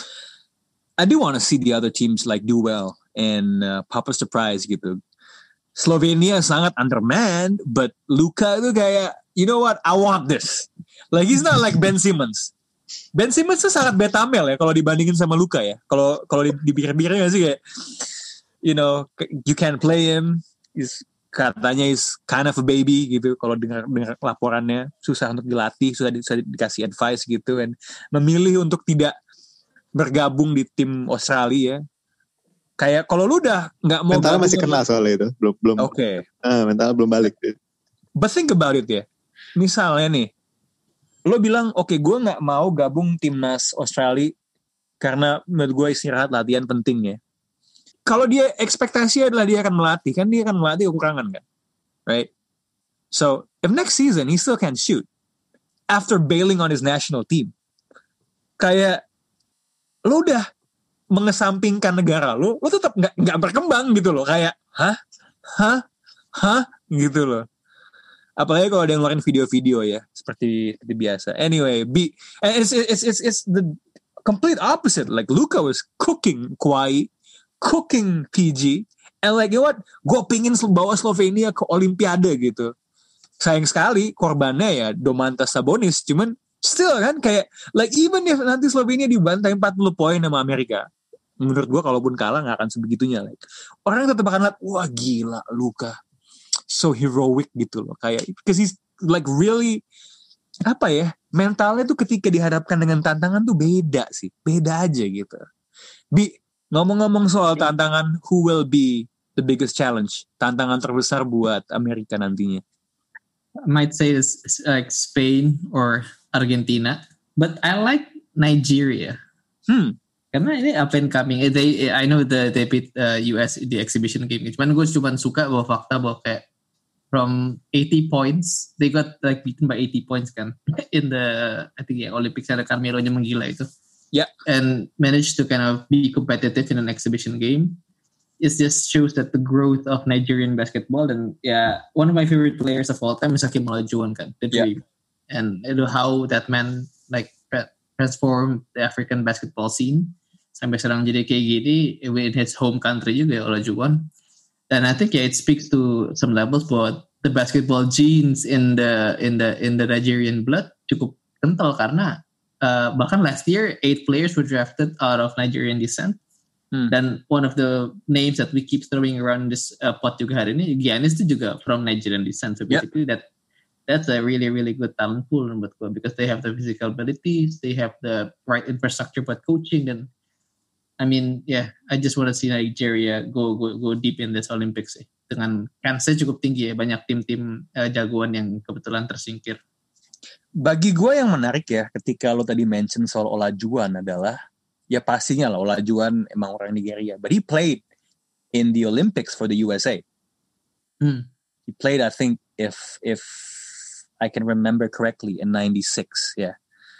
I do want to see the other teams like do well and pop a surprise gitu. Slovenia sangat undermanned, but Luka itu kayak, you know what, I want this. Like he's not like Ben Simmons. Ben Simmons tuh sangat betamel ya kalau dibandingin sama Luka ya. Kalau dipikir-pikir gak sih kayak, you know, you can't play him. Katanya is kind of a baby gitu. Kalau dengar laporannya susah untuk dilatih, susah dikasih advice gitu, and memilih untuk tidak bergabung di tim Australia ya. Kayak kalau lu udah nggak mau, mentalnya masih kena soalnya itu, belum. Oke. Mentalnya belum balik. But think about it ya. Misalnya nih, lo bilang oke, gue nggak mau gabung timnas Australia karena menurut gue istirahat latihan penting ya. Kalau dia ekspektasi adalah dia akan melatih, kan dia akan melatih kekurangan kan, right? So if next season he still can't shoot after bailing on his national team, kayak lo udah mengesampingkan negara lo tetap nggak berkembang gitu loh, kayak hah gitu loh. Apalagi kalau ada yang ngeluarin video-video ya seperti biasa. Anyway, it's the complete opposite. Like Luka was cooking Kawhi, cooking PG, and like you know what, gue pingin bawa Slovenia ke Olimpiade gitu. Sayang sekali korbannya ya Domantas Sabonis, cuman still kan kayak like even if nanti Slovenia dibantai 40 poin sama Amerika, menurut gue kalaupun kalah nggak akan sebegitunya. Like, orang tetap akan lihat, wah gila Luka, so heroic gitu loh. Kayak, because he's like really, apa ya, mentalnya tuh ketika dihadapkan dengan tantangan tuh beda sih. Beda aja gitu. Ngomong-ngomong soal tantangan, who will be the biggest challenge? Tantangan terbesar buat Amerika nantinya? I might say it's like Spain or Argentina, but I like Nigeria. Karena ini up and coming. I know they beat US the exhibition game. Cuman gue cuma suka bahwa fakta bahwa kayak from 80 points, they got like beaten by 80 points kan in the I think Olympics, ada Carmelo-nya menggila itu. Yeah. And managed to kind of be competitive in an exhibition game. It just shows that the growth of Nigerian basketball, and one of my favorite players of all time is Hakeem Olajuwon kan, the Dream. And you know how that man like transformed the African basketball scene sampai sekarang jadi kayak gini in his home country juga Olajuwon. And I think it speaks to some levels bahwa the basketball genes in the Nigerian blood cukup kental karena bahkan last year 8 players were drafted out of Nigerian descent. Dan one of the names that we keep throwing around this pot juga hari ini, Giannis itu juga from Nigerian descent. So basically that's a really really good talent pool buat gue, because they have the physical abilities, they have the right infrastructure buat coaching, dan I mean I just want to see Nigeria go deep in this Olympics dengan kansnya cukup tinggi ya, banyak tim-tim jagoan yang kebetulan tersingkir. Bagi gue yang menarik ya, ketika lo tadi mention soal Olajuwon adalah, ya pastinya lah Olajuwon emang orang Nigeria, but he played in the Olympics for the USA. He played, I think, if I can remember correctly, in 96, ya.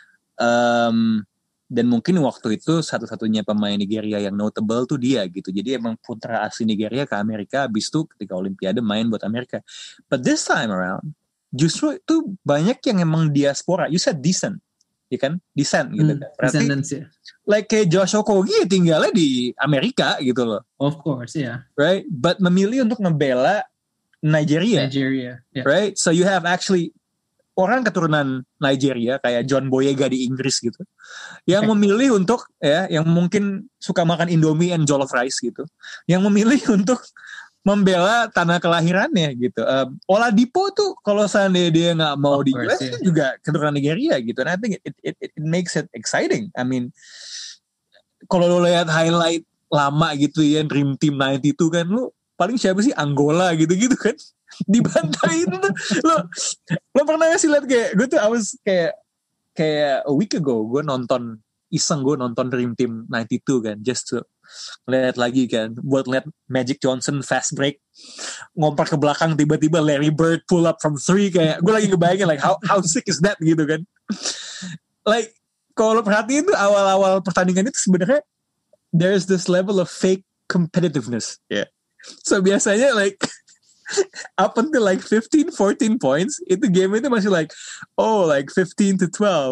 Dan mungkin waktu itu satu-satunya pemain Nigeria yang notable tuh dia gitu. Jadi emang putra asli Nigeria ke Amerika, habis itu ketika Olimpiade main buat Amerika. But this time around, justru itu banyak yang emang diaspora. You said descent, ya kan? Descent gitu kan. Berarti like kayak Josh Okogie tinggalnya di Amerika gitu loh. Of course, Right? But memilih untuk ngebela Nigeria. Right? So you have actually orang keturunan Nigeria kayak John Boyega di Inggris gitu, yang memilih untuk yang mungkin suka makan Indomie and jollof rice gitu, yang memilih untuk membela tanah kelahirannya gitu. Oladipo tuh kalau seandainya dia nggak mau di US juga keturunan Nigeria gitu. And I think it makes it exciting. I mean, kalau lo lihat highlight lama gitu ya, Dream Team 92 kan, lo paling siapa sih, Angola gitu-gitu kan, dibantai itu tuh. Lo pernah gak sih lihat kayak gue tuh, I was kayak a week ago gue nonton Dream Team 92 kan, just to lihat lagi kan, buat lihat Magic Johnson fast break, ngompar ke belakang, tiba-tiba Larry Bird pull up from 3, kayak gue lagi ngebayangin like how sick is that gitu kan. Like kalau perhatiin tuh awal-awal pertandingan itu sebenarnya there's this level of fake competitiveness. So biasanya like up until like 15-14 points, itu game itu masih like like 15-12.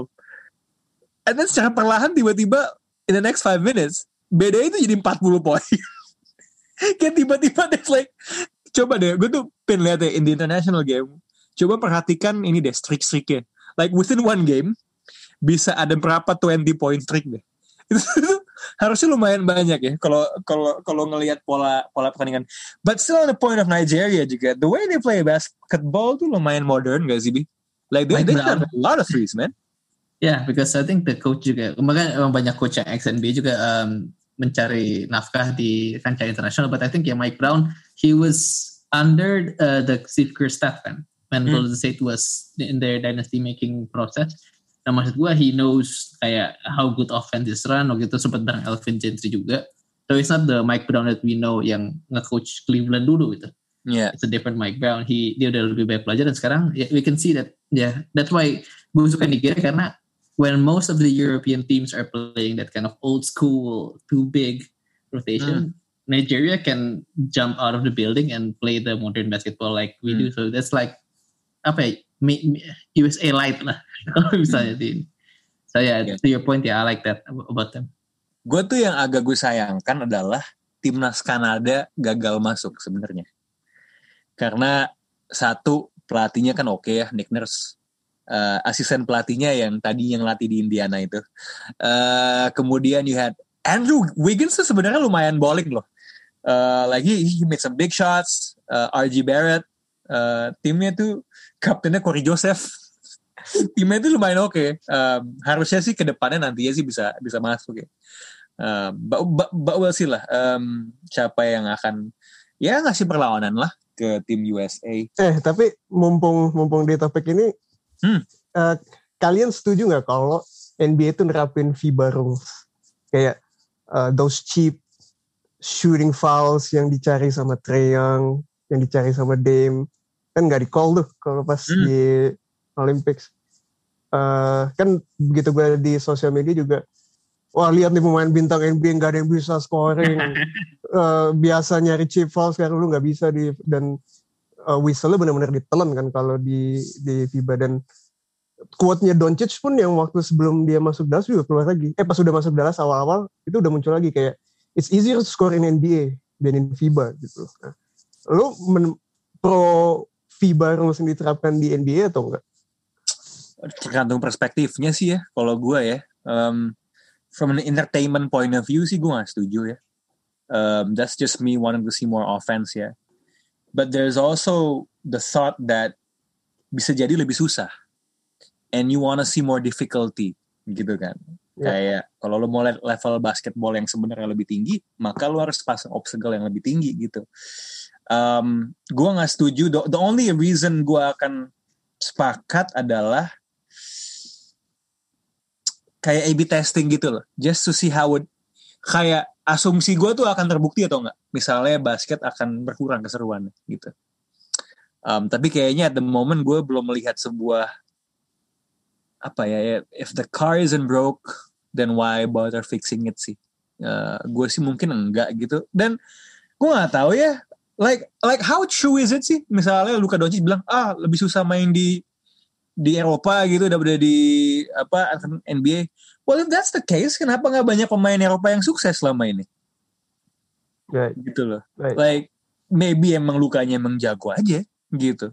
And then secara perlahan tiba-tiba in the next 5 minutes beda itu jadi 40 poin. Kayak tiba-tiba there's like, coba deh, gue tuh pengen lihat ya in the international game, coba perhatikan ini deh streak-streaknya. Like within one game bisa ada berapa 20 point streak deh. Itu harusnya lumayan banyak ya kalau ngelihat pola pertandingan. But still on the point of Nigeria juga, the way they play basketball tuh lumayan modern gak sih, Bi? Like they have a lot of threes, man. Yeah, because I think the coach juga, makanya banyak coach yang XNB juga mencari nafkah di kancah internasional. But I think Mike Brown, he was under the Steve Kerr staff kan, when Golden State was in their dynasty making process. Nah maksud gue, he knows kayak how good offense is run, waktu itu sempat bareng Elvin Gentry juga. So it's not the Mike Brown that we know yang nge-coach Cleveland dulu gitu. It's a different Mike Brown. Dia udah lebih banyak belajar, dan sekarang we can see that. That's why gue suka Nigeria, karena when most of the European teams are playing that kind of old school, too big rotation, Nigeria can jump out of the building and play the modern basketball like we do. So that's like USA light lah kalau misalnya di. So to your point, I like that about them. Gue tuh yang agak gue sayangkan adalah timnas Kanada gagal masuk sebenarnya. Karena satu, pelatihnya kan oke ya, Nick Nurse. Asisten pelatihnya yang tadi yang latih di Indiana itu. Kemudian you had Andrew Wiggins tuh sebenarnya lumayan bowling loh. Lagi he made some big shots. RJ Barrett, timnya tuh kaptennya Corey Joseph. Timnya tuh lumayan oke. Harusnya sih ke depannya nantinya sih bisa masuk ya. But we'll see lah. Siapa yang akan ya ngasih perlawanan lah ke tim USA. Tapi mumpung di topik ini, kalian setuju nggak kalau NBA itu nerapin FIBA rules kayak those cheap shooting fouls yang dicari sama Trae Young, yang dicari sama Dame, kan nggak di call tuh kalau pas di Olympics. Kan begitu gue di sosial media juga, wah lihat nih pemain bintang NBA nggak ada yang bisa scoring, biasa nyari cheap fouls sekarang lu nggak bisa dan whistle-nya benar-benar ditelan kan kalau di FIBA. Dan quote-nya Doncic pun yang waktu sebelum dia masuk Dallas juga keluar lagi. Pas udah masuk Dallas awal-awal itu udah muncul lagi kayak it's easier to score in NBA than in FIBA gitu. Nah, lu pro FIBA rules yang diterapkan di NBA atau enggak? Tergantung perspektifnya sih ya. Kalau gue ya, from an entertainment point of view sih gue gak setuju ya. That's just me wanting to see more offense ya. But there's also the thought that bisa jadi lebih susah. And you wanna see more difficulty gitu kan. Kayak kalau lo mau level basketball yang sebenarnya lebih tinggi, maka lo harus pasang obstacle yang lebih tinggi gitu. Gue gak setuju. The only reason gue akan sepakat adalah kayak A/B testing gitu loh. Just to see how kayak asumsi gue tuh akan terbukti atau enggak. Misalnya basket akan berkurang keseruannya gitu. Tapi kayaknya at the moment gue belum melihat sebuah apa ya, if the car isn't broke, then why bother fixing it sih? Gue sih mungkin enggak gitu. Dan gue nggak tahu ya, like how true is it sih? Misalnya Luka Doncic bilang, lebih susah main di Eropa gitu daripada di NBA. Well, if that's the case, kenapa nggak banyak pemain Eropa yang sukses selama ini? Right. Gitu loh. Right. Like maybe emang Lukanya emang jago aja gitu.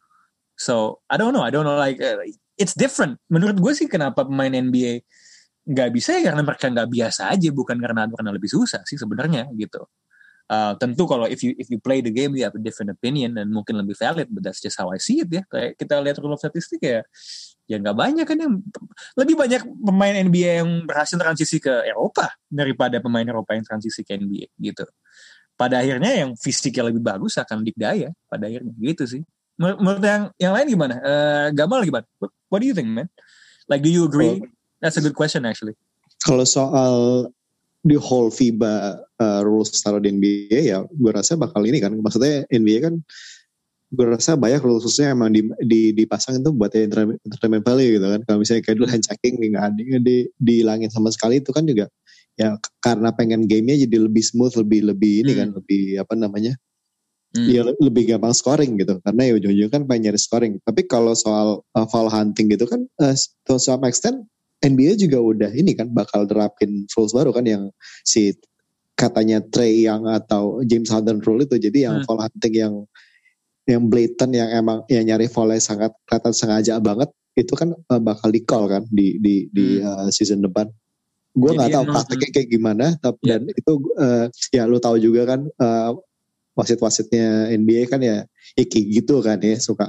So I don't know like it's different. Menurut gue sih kenapa pemain NBA nggak bisa ya karena mereka nggak biasa aja, bukan karena lebih susah sih sebenarnya gitu. Tentu kalau if you play the game you have a different opinion dan mungkin lebih valid, but that's just how I see it ya. Kayak kita lihat rule of statistik ya nggak banyak kan yang lebih banyak pemain NBA yang berhasil transisi ke Eropa daripada pemain Eropa yang transisi ke NBA gitu. Pada akhirnya yang fisiknya lebih bagus akan dikdaya pada akhirnya gitu sih. Menurut yang lain gimana? Gamal gimana? What do you think, man? Like, do you agree? That's a good question actually. Kalau soal the whole FIBA rules taruh di NBA ya, gue rasa bakal ini kan. Maksudnya NBA kan, gue rasa banyak rules khususnya emang dipasang itu buat entertainment value gitu kan. Kalau misalnya kayak dulu hand checking nggak dihilangin sama sekali, itu kan juga ya karena pengen gamenya jadi lebih smooth, lebih ini kan, lebih apa namanya? Ya lebih gampang scoring gitu, karena ya ujung-ujungnya kan pengen nyari scoring. Tapi kalau soal foul hunting gitu kan, to some extent NBA juga udah ini kan bakal terapin rules baru kan, yang si katanya Trae Young atau James Harden rule itu. Jadi yang foul hunting yang blatant, yang emang yang nyari foul-nya sangat kelihatan sengaja banget, itu kan bakal di call kan di season depan. Gue nggak tahu prakteknya kayak gimana, tapi dan itu ya lu tahu juga kan. Wasit-wasitnya NBA kan ya kayak gitu kan ya, suka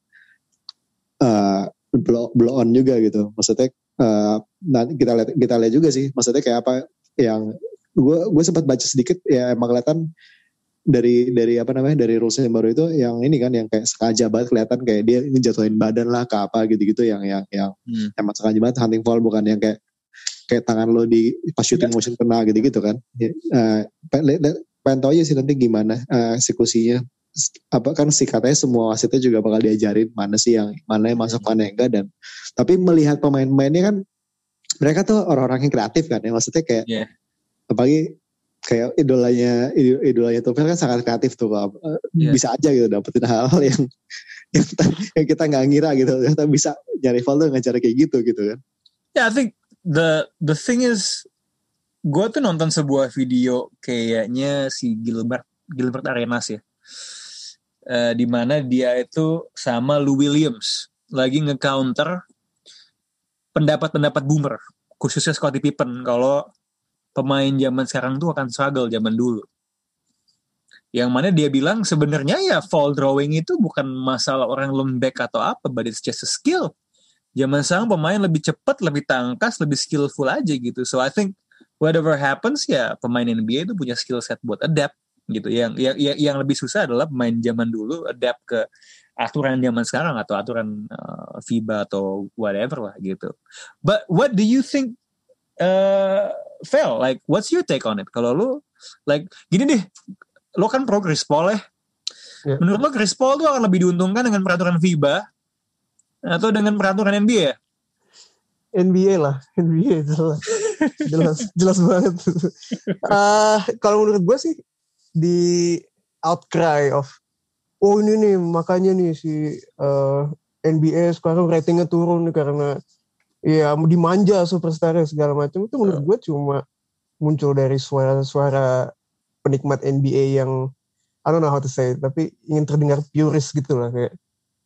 blow on juga gitu. Maksudnya nanti kita lihat juga sih, maksudnya kayak apa yang gue sempat baca sedikit ya, emang kelihatan dari apa namanya, dari rules yang baru itu yang ini kan, yang kayak sengaja banget kelihatan kayak dia ngejatuhin badan lah ke apa gitu-gitu, yang emang sengaja banget hunting foul, bukan yang kayak tangan lo di pas shooting motion kena gitu kan. Pengen tahu aja sih nanti gimana eksekusinya. Apa kan sih katanya semua wasitnya juga bakal diajarin mana yang masuk, mana yang enggak. Dan tapi melihat pemain-pemainnya kan, mereka tuh orang-orang yang kreatif kan ya, maksudnya kayak apalagi kayak idolanya Tufel kan sangat kreatif tuh, bisa aja gitu dapetin hal-hal yang kita nggak ngira gitu, kita bisa nyari foul tuh nggak cara kayak gitu kan. I think the thing is, gue tuh nonton sebuah video kayaknya si Gilbert Arenas ya, di mana dia itu sama Lou Williams lagi nge-counter pendapat boomer, khususnya Scottie Pippen, kalau pemain zaman sekarang tuh akan struggle zaman dulu. Yang mana dia bilang sebenarnya ya fall drawing itu bukan masalah orang lembek atau apa, but it's just a skill. Zaman sekarang pemain lebih cepat, lebih tangkas, lebih skillful aja gitu. So I think whatever happens ya pemain NBA itu punya skill set buat adapt gitu. Yang lebih susah adalah pemain zaman dulu adapt ke aturan zaman sekarang atau aturan FIBA atau whatever lah gitu. But what do you think, Phil? Like what's your take on it? Kalau lu like gini deh, lo kan pro Chris Paul ya. Yeah. Menurut lo Chris Paul tuh akan lebih diuntungkan dengan peraturan FIBA atau dengan peraturan NBA ya? NBA lah, NBA jelas banget. Kalau menurut gue sih di outcry of ini nih makanya nih si NBA sekarang ratingnya turun nih karena ya dimanja superstarnya segala macam, itu menurut gue cuma muncul dari suara-suara penikmat NBA yang I don't know how to say it, tapi ingin terdengar purist gitu lah, kayak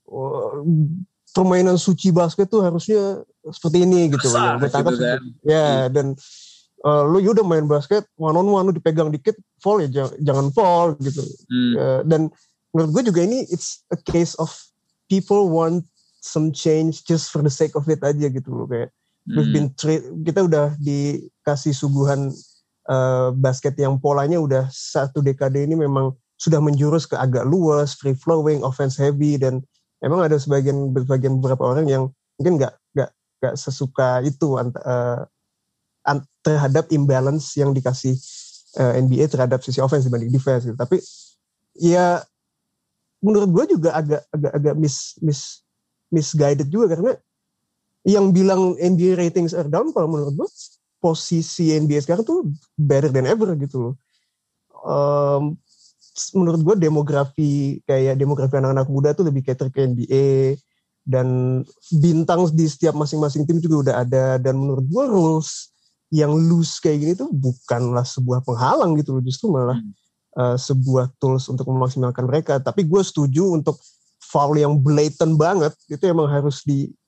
permainan suci basket tuh harusnya seperti ini gitu. Besar, yang gitu kan. Ya, dan lu udah main basket one on one, lu dipegang dikit fall ya jangan fall gitu. Dan menurut gue juga ini it's a case of people want some change just for the sake of it aja gitu loh, kayak kita udah dikasih suguhan basket yang polanya udah 1 dekade ini memang sudah menjurus ke agak luas, free flowing, offense heavy, dan emang ada sebagian beberapa orang yang mungkin nggak sesuka itu terhadap imbalance yang dikasih NBA terhadap sisi offense dibanding defense gitu. Tapi ya menurut gue juga agak misguided juga, karena yang bilang NBA ratings are down, kalau menurut gue posisi NBA sekarang tuh better than ever gitu loh. Menurut gue demografi anak-anak muda tuh lebih cater ke NBA, dan bintang di setiap masing-masing tim juga udah ada, dan menurut gue rules yang loose kayak gini tuh bukanlah sebuah penghalang gitu loh, justru malah sebuah tools untuk memaksimalkan mereka. Tapi gue setuju untuk foul yang blatant banget itu emang harus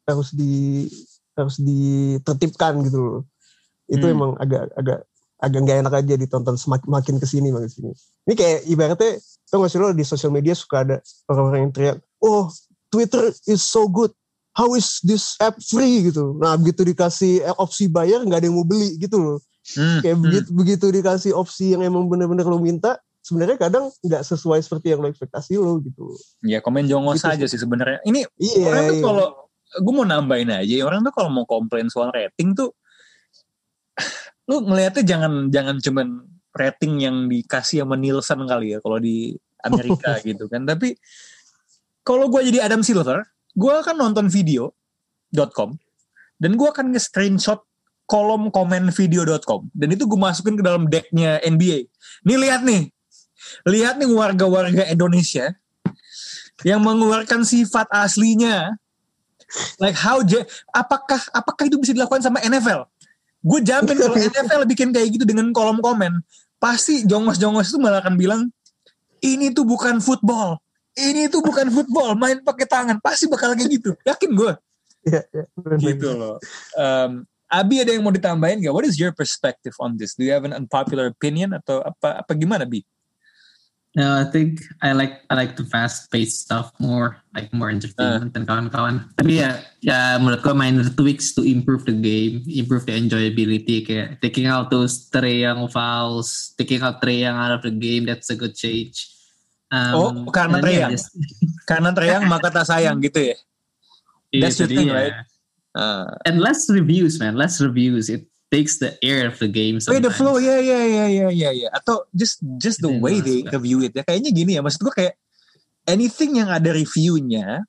ditertibkan gitu loh. Itu emang agak nggak enak aja ditonton makin kesini. Ini kayak ibaratnya, tau gak sih lo di sosial media suka ada orang-orang yang teriak, oh Twitter is so good, how is this app free gitu. Nah begitu dikasih opsi bayar nggak ada yang mau beli gitu loh. Kayak begitu dikasih opsi yang emang bener-bener lo minta, sebenarnya kadang nggak sesuai seperti yang lo ekspektasi lo gitu. Ya komen jongos gitu aja sih sebenarnya. Ini orang tuh kalau gue mau nambahin aja, orang tuh kalau mau komplain soal rating tuh, lu ngelihatnya jangan cuman rating yang dikasih sama Nielsen kali ya kalau di Amerika gitu kan. Tapi kalau gue jadi Adam Silver, gue akan nonton video.com dan gue akan nge-screenshot kolom komen video.com, dan itu gue masukin ke dalam decknya NBA. Nih lihat nih warga-warga Indonesia yang mengeluarkan sifat aslinya. Like apakah itu bisa dilakukan sama NFL? Gue jamin kalau NFL bikin kayak gitu dengan kolom komen, pasti jongos-jongos itu malah akan bilang, ini tuh bukan football, main pakai tangan, pasti bakal kayak gitu, yakin gue. Gitu loh. Abi ada yang mau ditambahin gak? What is your perspective on this? Do you have an unpopular opinion atau apa gimana, Bi? No, I think I like the fast-paced stuff more, like more entertainment dan kawan-kawan. Tapi ya menurut gue minor tweaks to improve the game, improve the enjoyability, kayak taking out those Trae Young fouls, taking out Trae Young out of the game, that's a good change. Karena Trae Young maka tak sayang gitu ya. That's the thing, right? And less reviews, man. Less reviews. It takes the air of the game sometimes. The flow, yeah. Atau just the way they review it. Ya kayaknya gini ya, maksud gue kayak anything yang ada reviewnya,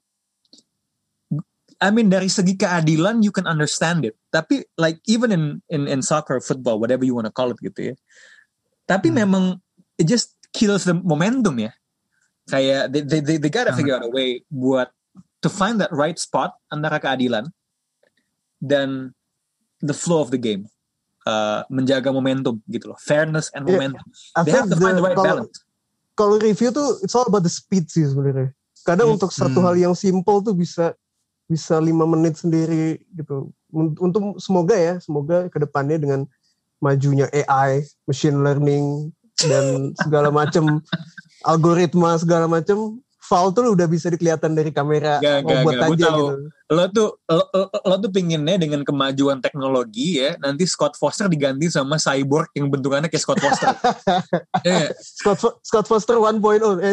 I mean dari segi keadilan you can understand it. Tapi like even in soccer, football, whatever you want to call it gitu ya. Tapi memang it just kills the momentum ya. Kayak they gotta figure out a way buat to find that right spot antara keadilan dan the flow of the game, menjaga momentum gitu loh, fairness and momentum. They have to find the right balance. Kalau review tuh it's all about the speed sih sebenarnya. Kadang untuk satu hal yang simple tuh bisa 5 menit sendiri gitu. Untuk semoga ke depannya dengan majunya AI, machine learning dan segala macam algoritma segala macam, foul tuh udah bisa dikelihatan dari kamera robot aja gitu. Lo tuh pinginnya dengan kemajuan teknologi ya, nanti Scott Foster diganti sama cyborg yang bentukannya kayak Scott Foster. Yeah. Scott Foster 1.0, 2.0.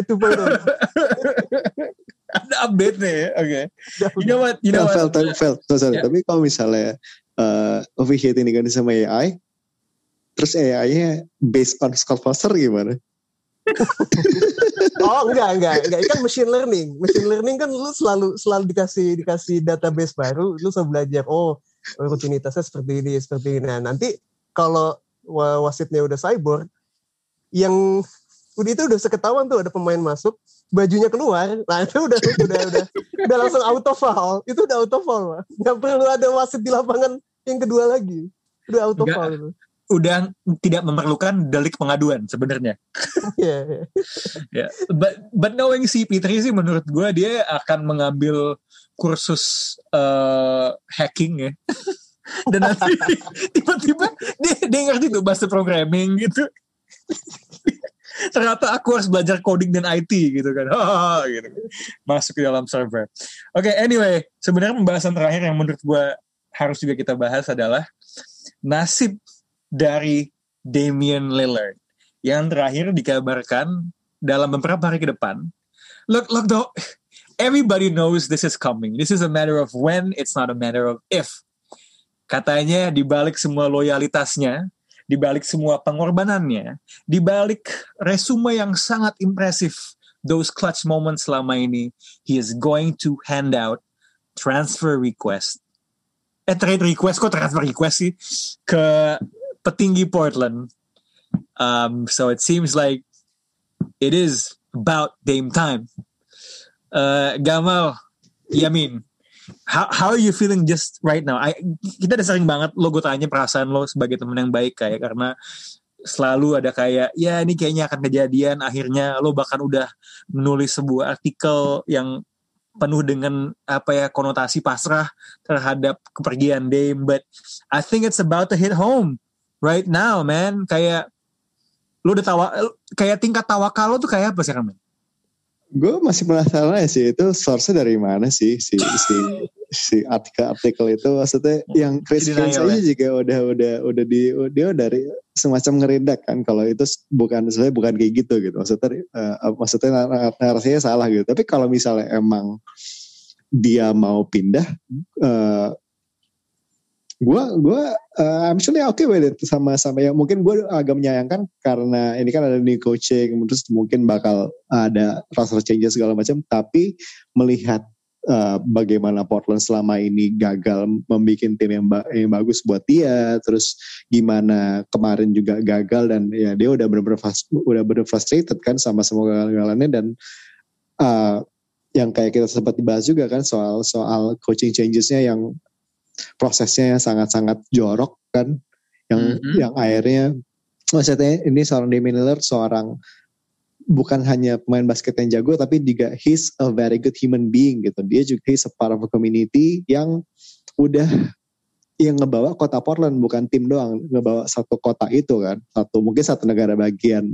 Ada update nih ya, oke. You know what? Sorry. Tapi kalau misalnya OV8 ini diganti sama AI, terus AI-nya based on Scott Foster gimana? Oh enggak, kan machine learning kan lu selalu dikasih database baru, lu selalu belajar rutinitasnya seperti ini. Nah nanti kalau wasitnya udah cyborg, yang itu udah seketahuan tuh ada pemain masuk, bajunya keluar, nah itu udah langsung auto foul, itu udah auto foul, nggak perlu ada wasit di lapangan yang kedua lagi, udah auto foul itu. Udah tidak memerlukan delik pengaduan sebenarnya. Yeah. But knowing CP3 sih menurut gue dia akan mengambil kursus hacking ya. Dan nanti tiba-tiba dia ngerti tuh bahasa programming gitu. Ternyata aku harus belajar coding dan IT gitu kan. Gitu. Masuk ke dalam server. Oke, anyway, sebenarnya pembahasan terakhir yang menurut gue harus juga kita bahas adalah nasib dari Damian Lillard yang terakhir dikabarkan dalam beberapa hari ke depan. Look though, everybody knows this is coming. This is a matter of when, it's not a matter of if. Katanya di balik semua loyalitasnya, di balik semua pengorbanannya, di balik resume yang sangat impresif, those clutch moments selama ini, he is going to hand out transfer request. Trade request, kok transfer request sih? Ke petinggi Portland. So it seems like it is about Dame time. Gamal, Yamin, how are you feeling just right now? Kita udah sering banget gue tanya perasaan lo sebagai teman yang baik kayak, karena selalu ada kayak ya ini kayaknya akan kejadian, akhirnya lo bahkan udah menulis sebuah artikel yang penuh dengan konotasi pasrah terhadap kepergian Dame, but I think it's about to hit home right now, man. Kayak lu udah kayak tingkat tawakal lo tuh kayak apa sih, man? Gue masih penasaran sih, itu source-nya dari mana sih si artikel itu, maksudnya yang Chris Fans aja juga udah dia dari semacam ngeridak kan kalau itu bukan kayak gitu maksudnya narasinya salah gitu. Tapi kalau misalnya emang dia mau pindah, gue actually okay with it sama yang mungkin gue agak menyayangkan karena ini kan ada new coaching, terus mungkin bakal ada roster changes segala macam, tapi melihat bagaimana Portland selama ini gagal membuat tim yang bagus buat dia, terus gimana kemarin juga gagal dan ya dia udah bener-bener frustrated kan sama semua kegagalannya, dan yang kayak kita sempat dibahas juga kan soal coaching changesnya yang prosesnya yang sangat-sangat jorok kan, yang akhirnya maksudnya ini seorang Damian Lillard seorang bukan hanya pemain basket yang jago, tapi juga he's a very good human being gitu. Dia juga he's a part of a community yang udah yang ngebawa kota Portland, bukan tim doang, ngebawa satu kota itu kan, mungkin satu negara bagian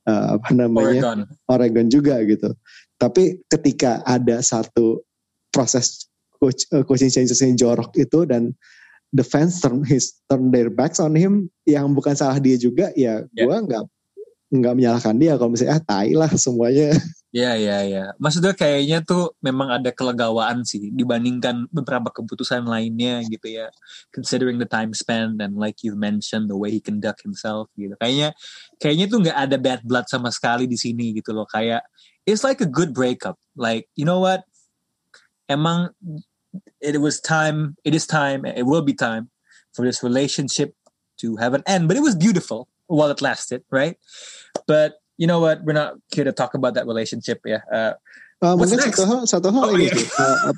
Oregon juga gitu. Tapi ketika ada satu proses coaching changes yang jorok itu dan the fans turn their backs on him, yang bukan salah dia juga ya, gue nggak menyalahkan dia kalau misalnya tai lah semuanya. Ya. Maksudnya kayaknya tuh memang ada kelegawaan sih dibandingkan beberapa keputusan lainnya gitu ya. Considering the time spent and like you mentioned the way he conduct himself gitu. Kayaknya tuh nggak ada bad blood sama sekali di sini gitu loh. Kayak it's like a good breakup. Like you know what? Emang it is time, it will be time for this relationship to have an end. But it was beautiful while it lasted, right? But you know what? We're not here to talk about that relationship ya. Mungkin satu hal ini sih.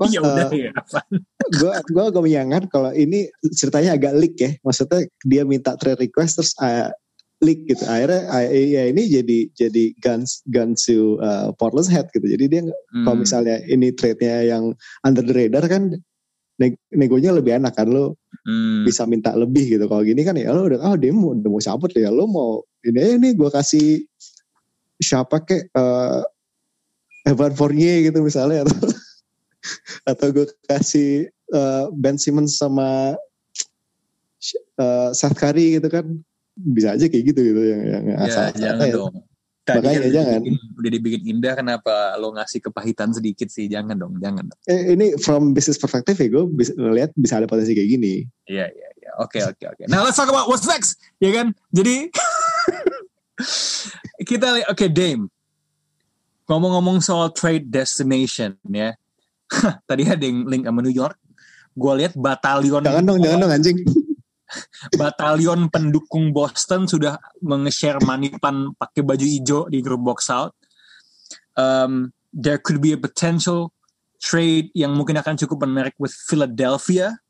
Gue agak menyayangkan kalau ini ceritanya agak leak ya. Maksudnya dia minta trade request terus leak gitu. Akhirnya ya ini jadi guns to Portland's head gitu. Jadi dia kalau misalnya ini trade-nya yang under the radar kan, negonya lebih enak kan, lo bisa minta lebih gitu. Kalau gini kan ya lo dia mau cabut ya, lo mau ini aja nih gue kasih siapa kek Evan Fournier gitu misalnya, atau gue kasih Ben Simmons sama Seth Curry gitu kan, bisa aja kayak gitu yang asal jangan ya. dong. Tadi makanya kan jangan. Udah dibikin indah, kenapa lo ngasih kepahitan sedikit sih? Jangan dong. Ini from business perspective ya, gue lihat bisa ada potensi kayak gini. Iya. Oke. Now let's talk about what's next, ya kan? Jadi kita lihat, Dame. Ngomong-ngomong soal trade destination ya. Tadi ada yang link sama New York. Gue lihat batalion. Jangan dong anjing. Batalion pendukung Boston sudah menge-share manipan pakai baju hijau di grup box out. There could be a potential trade yang mungkin akan cukup menarik with Philadelphia.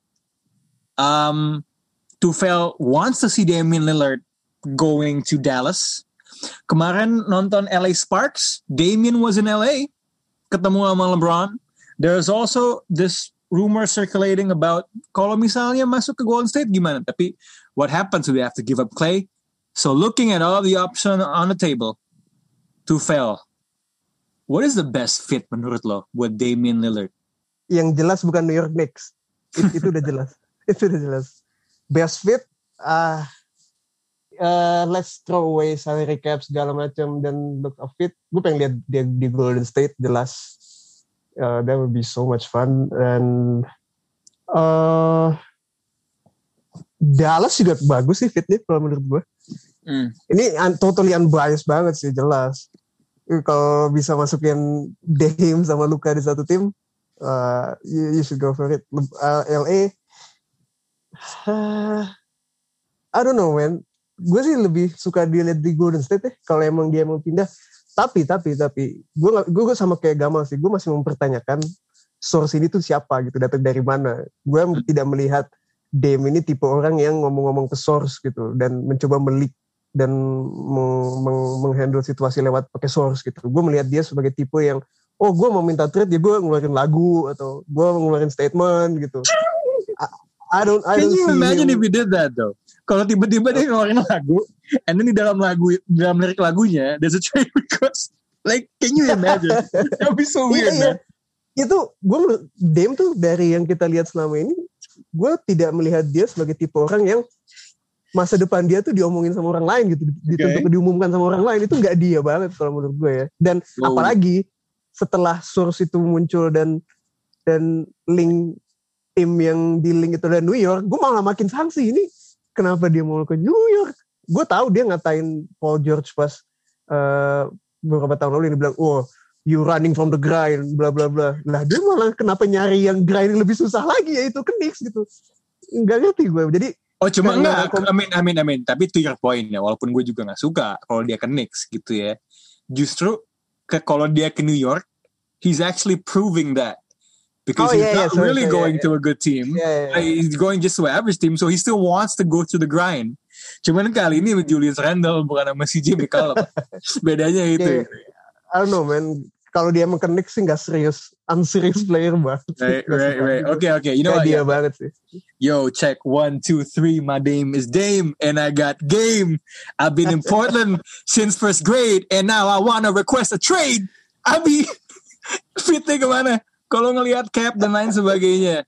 Tufel wants to see Damian Lillard going to Dallas. Kemarin nonton LA Sparks, Damian was in LA, ketemu sama LeBron. There's also this rumor circulating about kalau misalnya masuk ke Golden State gimana. Tapi what happens? We have to give up Clay. So looking at all the options on the table, Tufel, what is the best fit menurut lo buat Damian Lillard? Yang jelas bukan New York Knicks. Itu udah jelas. Itu udah jelas. Best fit, let's throw away salary cap segala macam dan look of fit. Gue pengen lihat dia di Golden State, jelas. That would be so much fun. And Dallas juga bagus sih fitnya kalau menurut gue. Ini totally unbiased banget sih, jelas. Kalau bisa masukin Dame sama Luka di satu tim, you should go for it. LA, I don't know man. Gue sih lebih suka dilihat di Golden State kalau emang dia mau pindah. Tapi gue sama kayak Gamal sih. Gue masih mempertanyakan source ini tuh siapa gitu, datang dari mana. Gue tidak melihat Dame ini tipe orang yang ngomong-ngomong ke source gitu dan mencoba melik dan menghandle situasi lewat pakai source gitu. Gue melihat dia sebagai tipe yang gue mau minta trade ya gue ngeluarin lagu atau gue ngeluarin statement gitu. I don't Can you imagine him. if we did that though? Kalau tiba-tiba dia ngeluarin lagu, and then di dalam lirik lagunya, there's a trade request. Like, can you imagine? That would be so weird, man. Itu, Dame tuh dari yang kita lihat selama ini, gue tidak melihat dia sebagai tipe orang yang masa depan dia tuh diomongin sama orang lain gitu, diumumkan sama orang lain. Itu nggak dia banget kalau menurut gue ya. Dan apalagi setelah source itu muncul dan link tim yang di link itu dari New York, gue malah makin sanksi ini. Kenapa dia mau ke New York? Gue tahu dia ngatain Paul George pas beberapa tahun lalu yang dibilang, you running from the grind, bla bla bla. Lah dia malah kenapa nyari yang grind lebih susah lagi, yaitu ke Knicks gitu. Nggak ngerti gue. Jadi cuma enggak. Amin. Tapi to your point ya, walaupun gue juga nggak suka kalau dia ke Knicks gitu ya. Justru kalau dia ke New York, he's actually proving that. Because he's not really going to a good team. He's going just to an average team. So he still wants to go through the grind. Cuman kali ini Julius Randle bukan sama CJ McCollum. Bedanya itu. I don't know man. Kalau dia emang ke Knicks sih gak serius. Unserious player banget. Right. Okay. You know what? Dia banget sih. Yo, check 1, 2, 3. My name is Dame. And I got game. I've been in Portland since first grade. And now I want to request a trade. Abi, fitnya kemana? Kalau ngelihat cap dan lain sebagainya,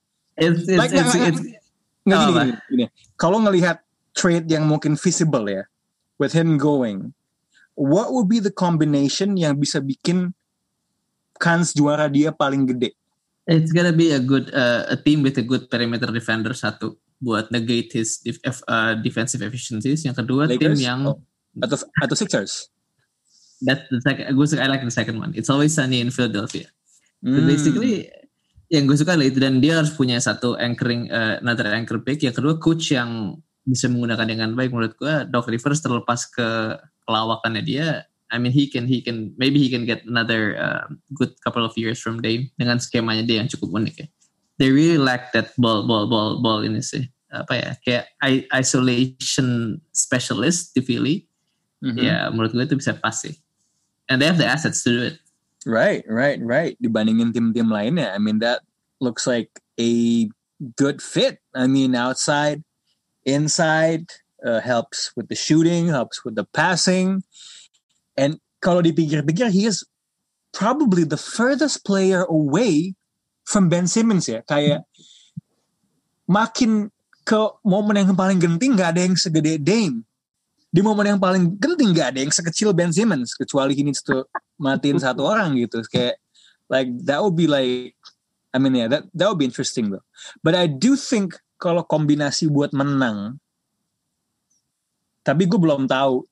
gini. Kalau ngelihat trade yang mungkin visible ya, with him going, what would be the combination yang bisa bikin kans juara dia paling gede? It's gonna be a team with a good perimeter defender, satu buat negate his defensive efficiencies. Yang kedua, Lakers? tim yang atau Sixers. That's the second. I like the second one. It's always sunny in Philadelphia. So basically yang gue suka adalah itu, dan dia harus punya satu another anchor pick. Yang kedua, coach yang bisa menggunakan dengan baik. Menurut gue Doc Rivers terlepas ke kelawakannya dia, I mean he can get another good couple of years from Dame dengan skemanya dia yang cukup unik ya. They really lack that ball ini sih. Kayak isolation specialist di Philly. Ya menurut gue itu bisa pas sih. And they have the assets to do it. Right. Dibandingin tim-tim lainnya, I mean that looks like a good fit. I mean, outside, inside, helps with the shooting, helps with the passing. And kalau dipikir-pikir, he is probably the furthest player away from Ben Simmons ya. Kayak makin ke momen yang paling genting gak ada yang segede Dame. Di momen yang paling genting gak ada yang sekecil Ben Simmons, kecuali he needs to matiin satu orang gitu. Kayak like that would be like, I mean yeah, that would be interesting though. But I do think kalau kombinasi buat menang, tapi gue belum tahu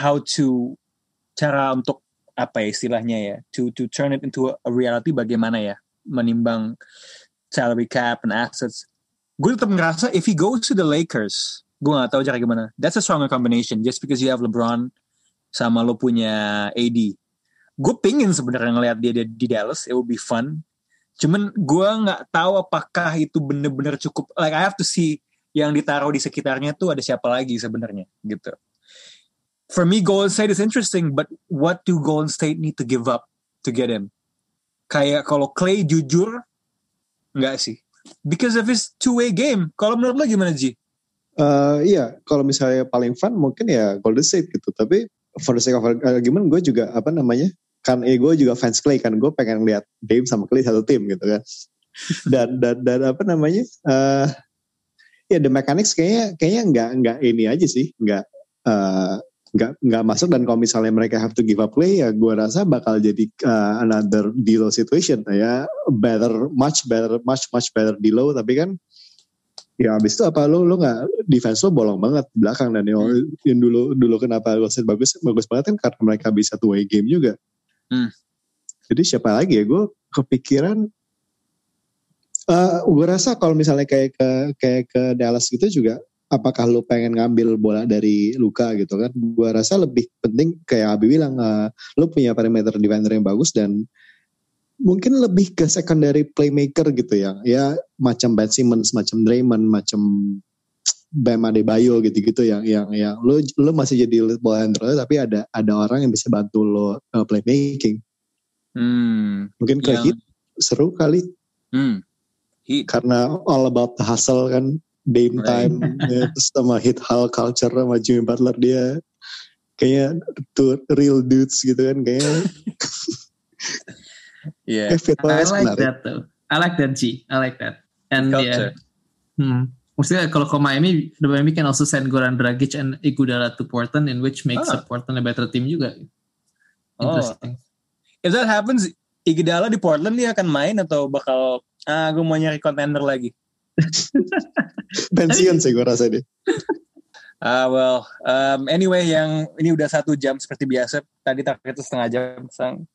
cara untuk apa ya istilahnya ya, to turn it into a reality bagaimana ya, menimbang salary cap and assets. Gue tetap ngerasa if he goes to the Lakers, gue gak tahu cara gimana. That's a stronger combination. Just because you have LeBron sama lo punya AD. Gue pingin sebenarnya ngeliat dia di Dallas. It would be fun. Cuman gue gak tahu apakah itu bener-bener cukup. Like I have to see yang ditaruh di sekitarnya tuh ada siapa lagi sebenarnya gitu. For me, Golden State is interesting. But what do Golden State need to give up to get him? Kayak kalau Clay jujur, gak sih. Because of his two-way game. Kalau menurut lo gimana, Ji? Iya, kalau misalnya paling fun mungkin ya Golden State gitu. Tapi for the sake of argument, gue juga kan gue juga fans Clay kan. Gue pengen lihat Dame sama Clay satu tim gitu kan. Dan ya the mechanics kayaknya nggak ini aja sih, nggak masuk. Dan kalau misalnya mereka have to give up Clay, ya gue rasa bakal jadi another D'Lo situation ya, much better D'Lo. Tapi kan ya abis itu apa lo nggak, defense lo bolong banget di belakang. Dan yang dulu kenapa lo set bagus banget kan karena mereka bisa two way game juga. Jadi siapa lagi ya, gue kepikiran gue rasa kalau misalnya kayak ke Dallas gitu juga, apakah lo pengen ngambil bola dari Luka gitu kan. Gue rasa lebih penting kayak Abi bilang, lo punya perimeter defender yang bagus dan mungkin lebih ke secondary playmaker gitu ya macam Ben Simmons, macam Draymond, macam Bam Adebayo gitu-gitu yang lo masih jadi ball handler tapi ada orang yang bisa bantu lo playmaking. Mungkin kayak gitu seru kali. Karena all about the hustle kan, Dame time, ya, terus sama hit hall culture sama Jimmy Butler, dia kayaknya two real dudes gitu kan kayaknya. Yeah, I like that though. I like that, G. I like that. And yeah, maksudnya kalau ke Miami, the Miami can also send Goran Dragic and Iguodala to Portland, in which makes Portland a better team juga. Interesting. If that happens, Iguodala di Portland dia akan main atau bakal gue mau nyari contender lagi? Pensiun sih gue rasa deh. Anyway, yang ini udah 1 jam seperti biasa. Tadi targetnya setengah jam.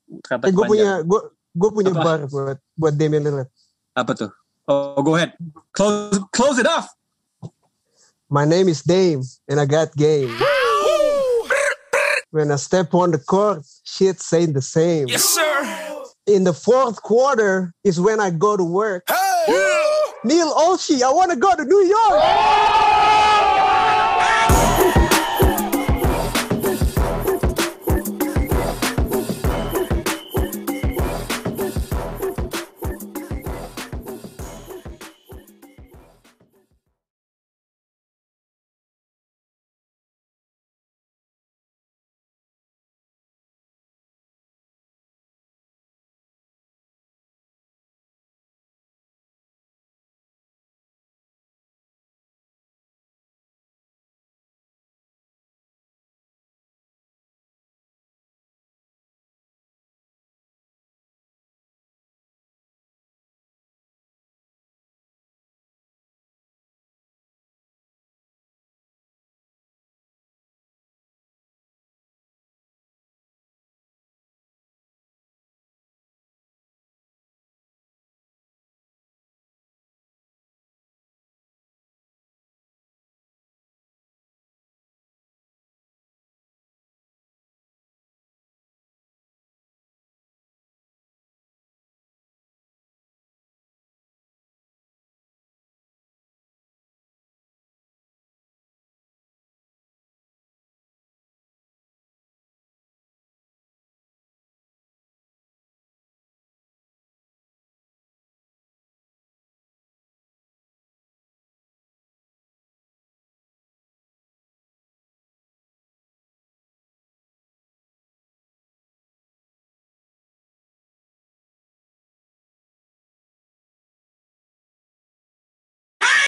Gue punya bar buat Damian Lillard. Apa tuh? Oh, go ahead. Close it off. My name is Dame and I got game. When I step on the court, shit's ain't the same. Yes, sir. In the fourth quarter is when I go to work. Hey! Neil Olshey, I want to go to New York.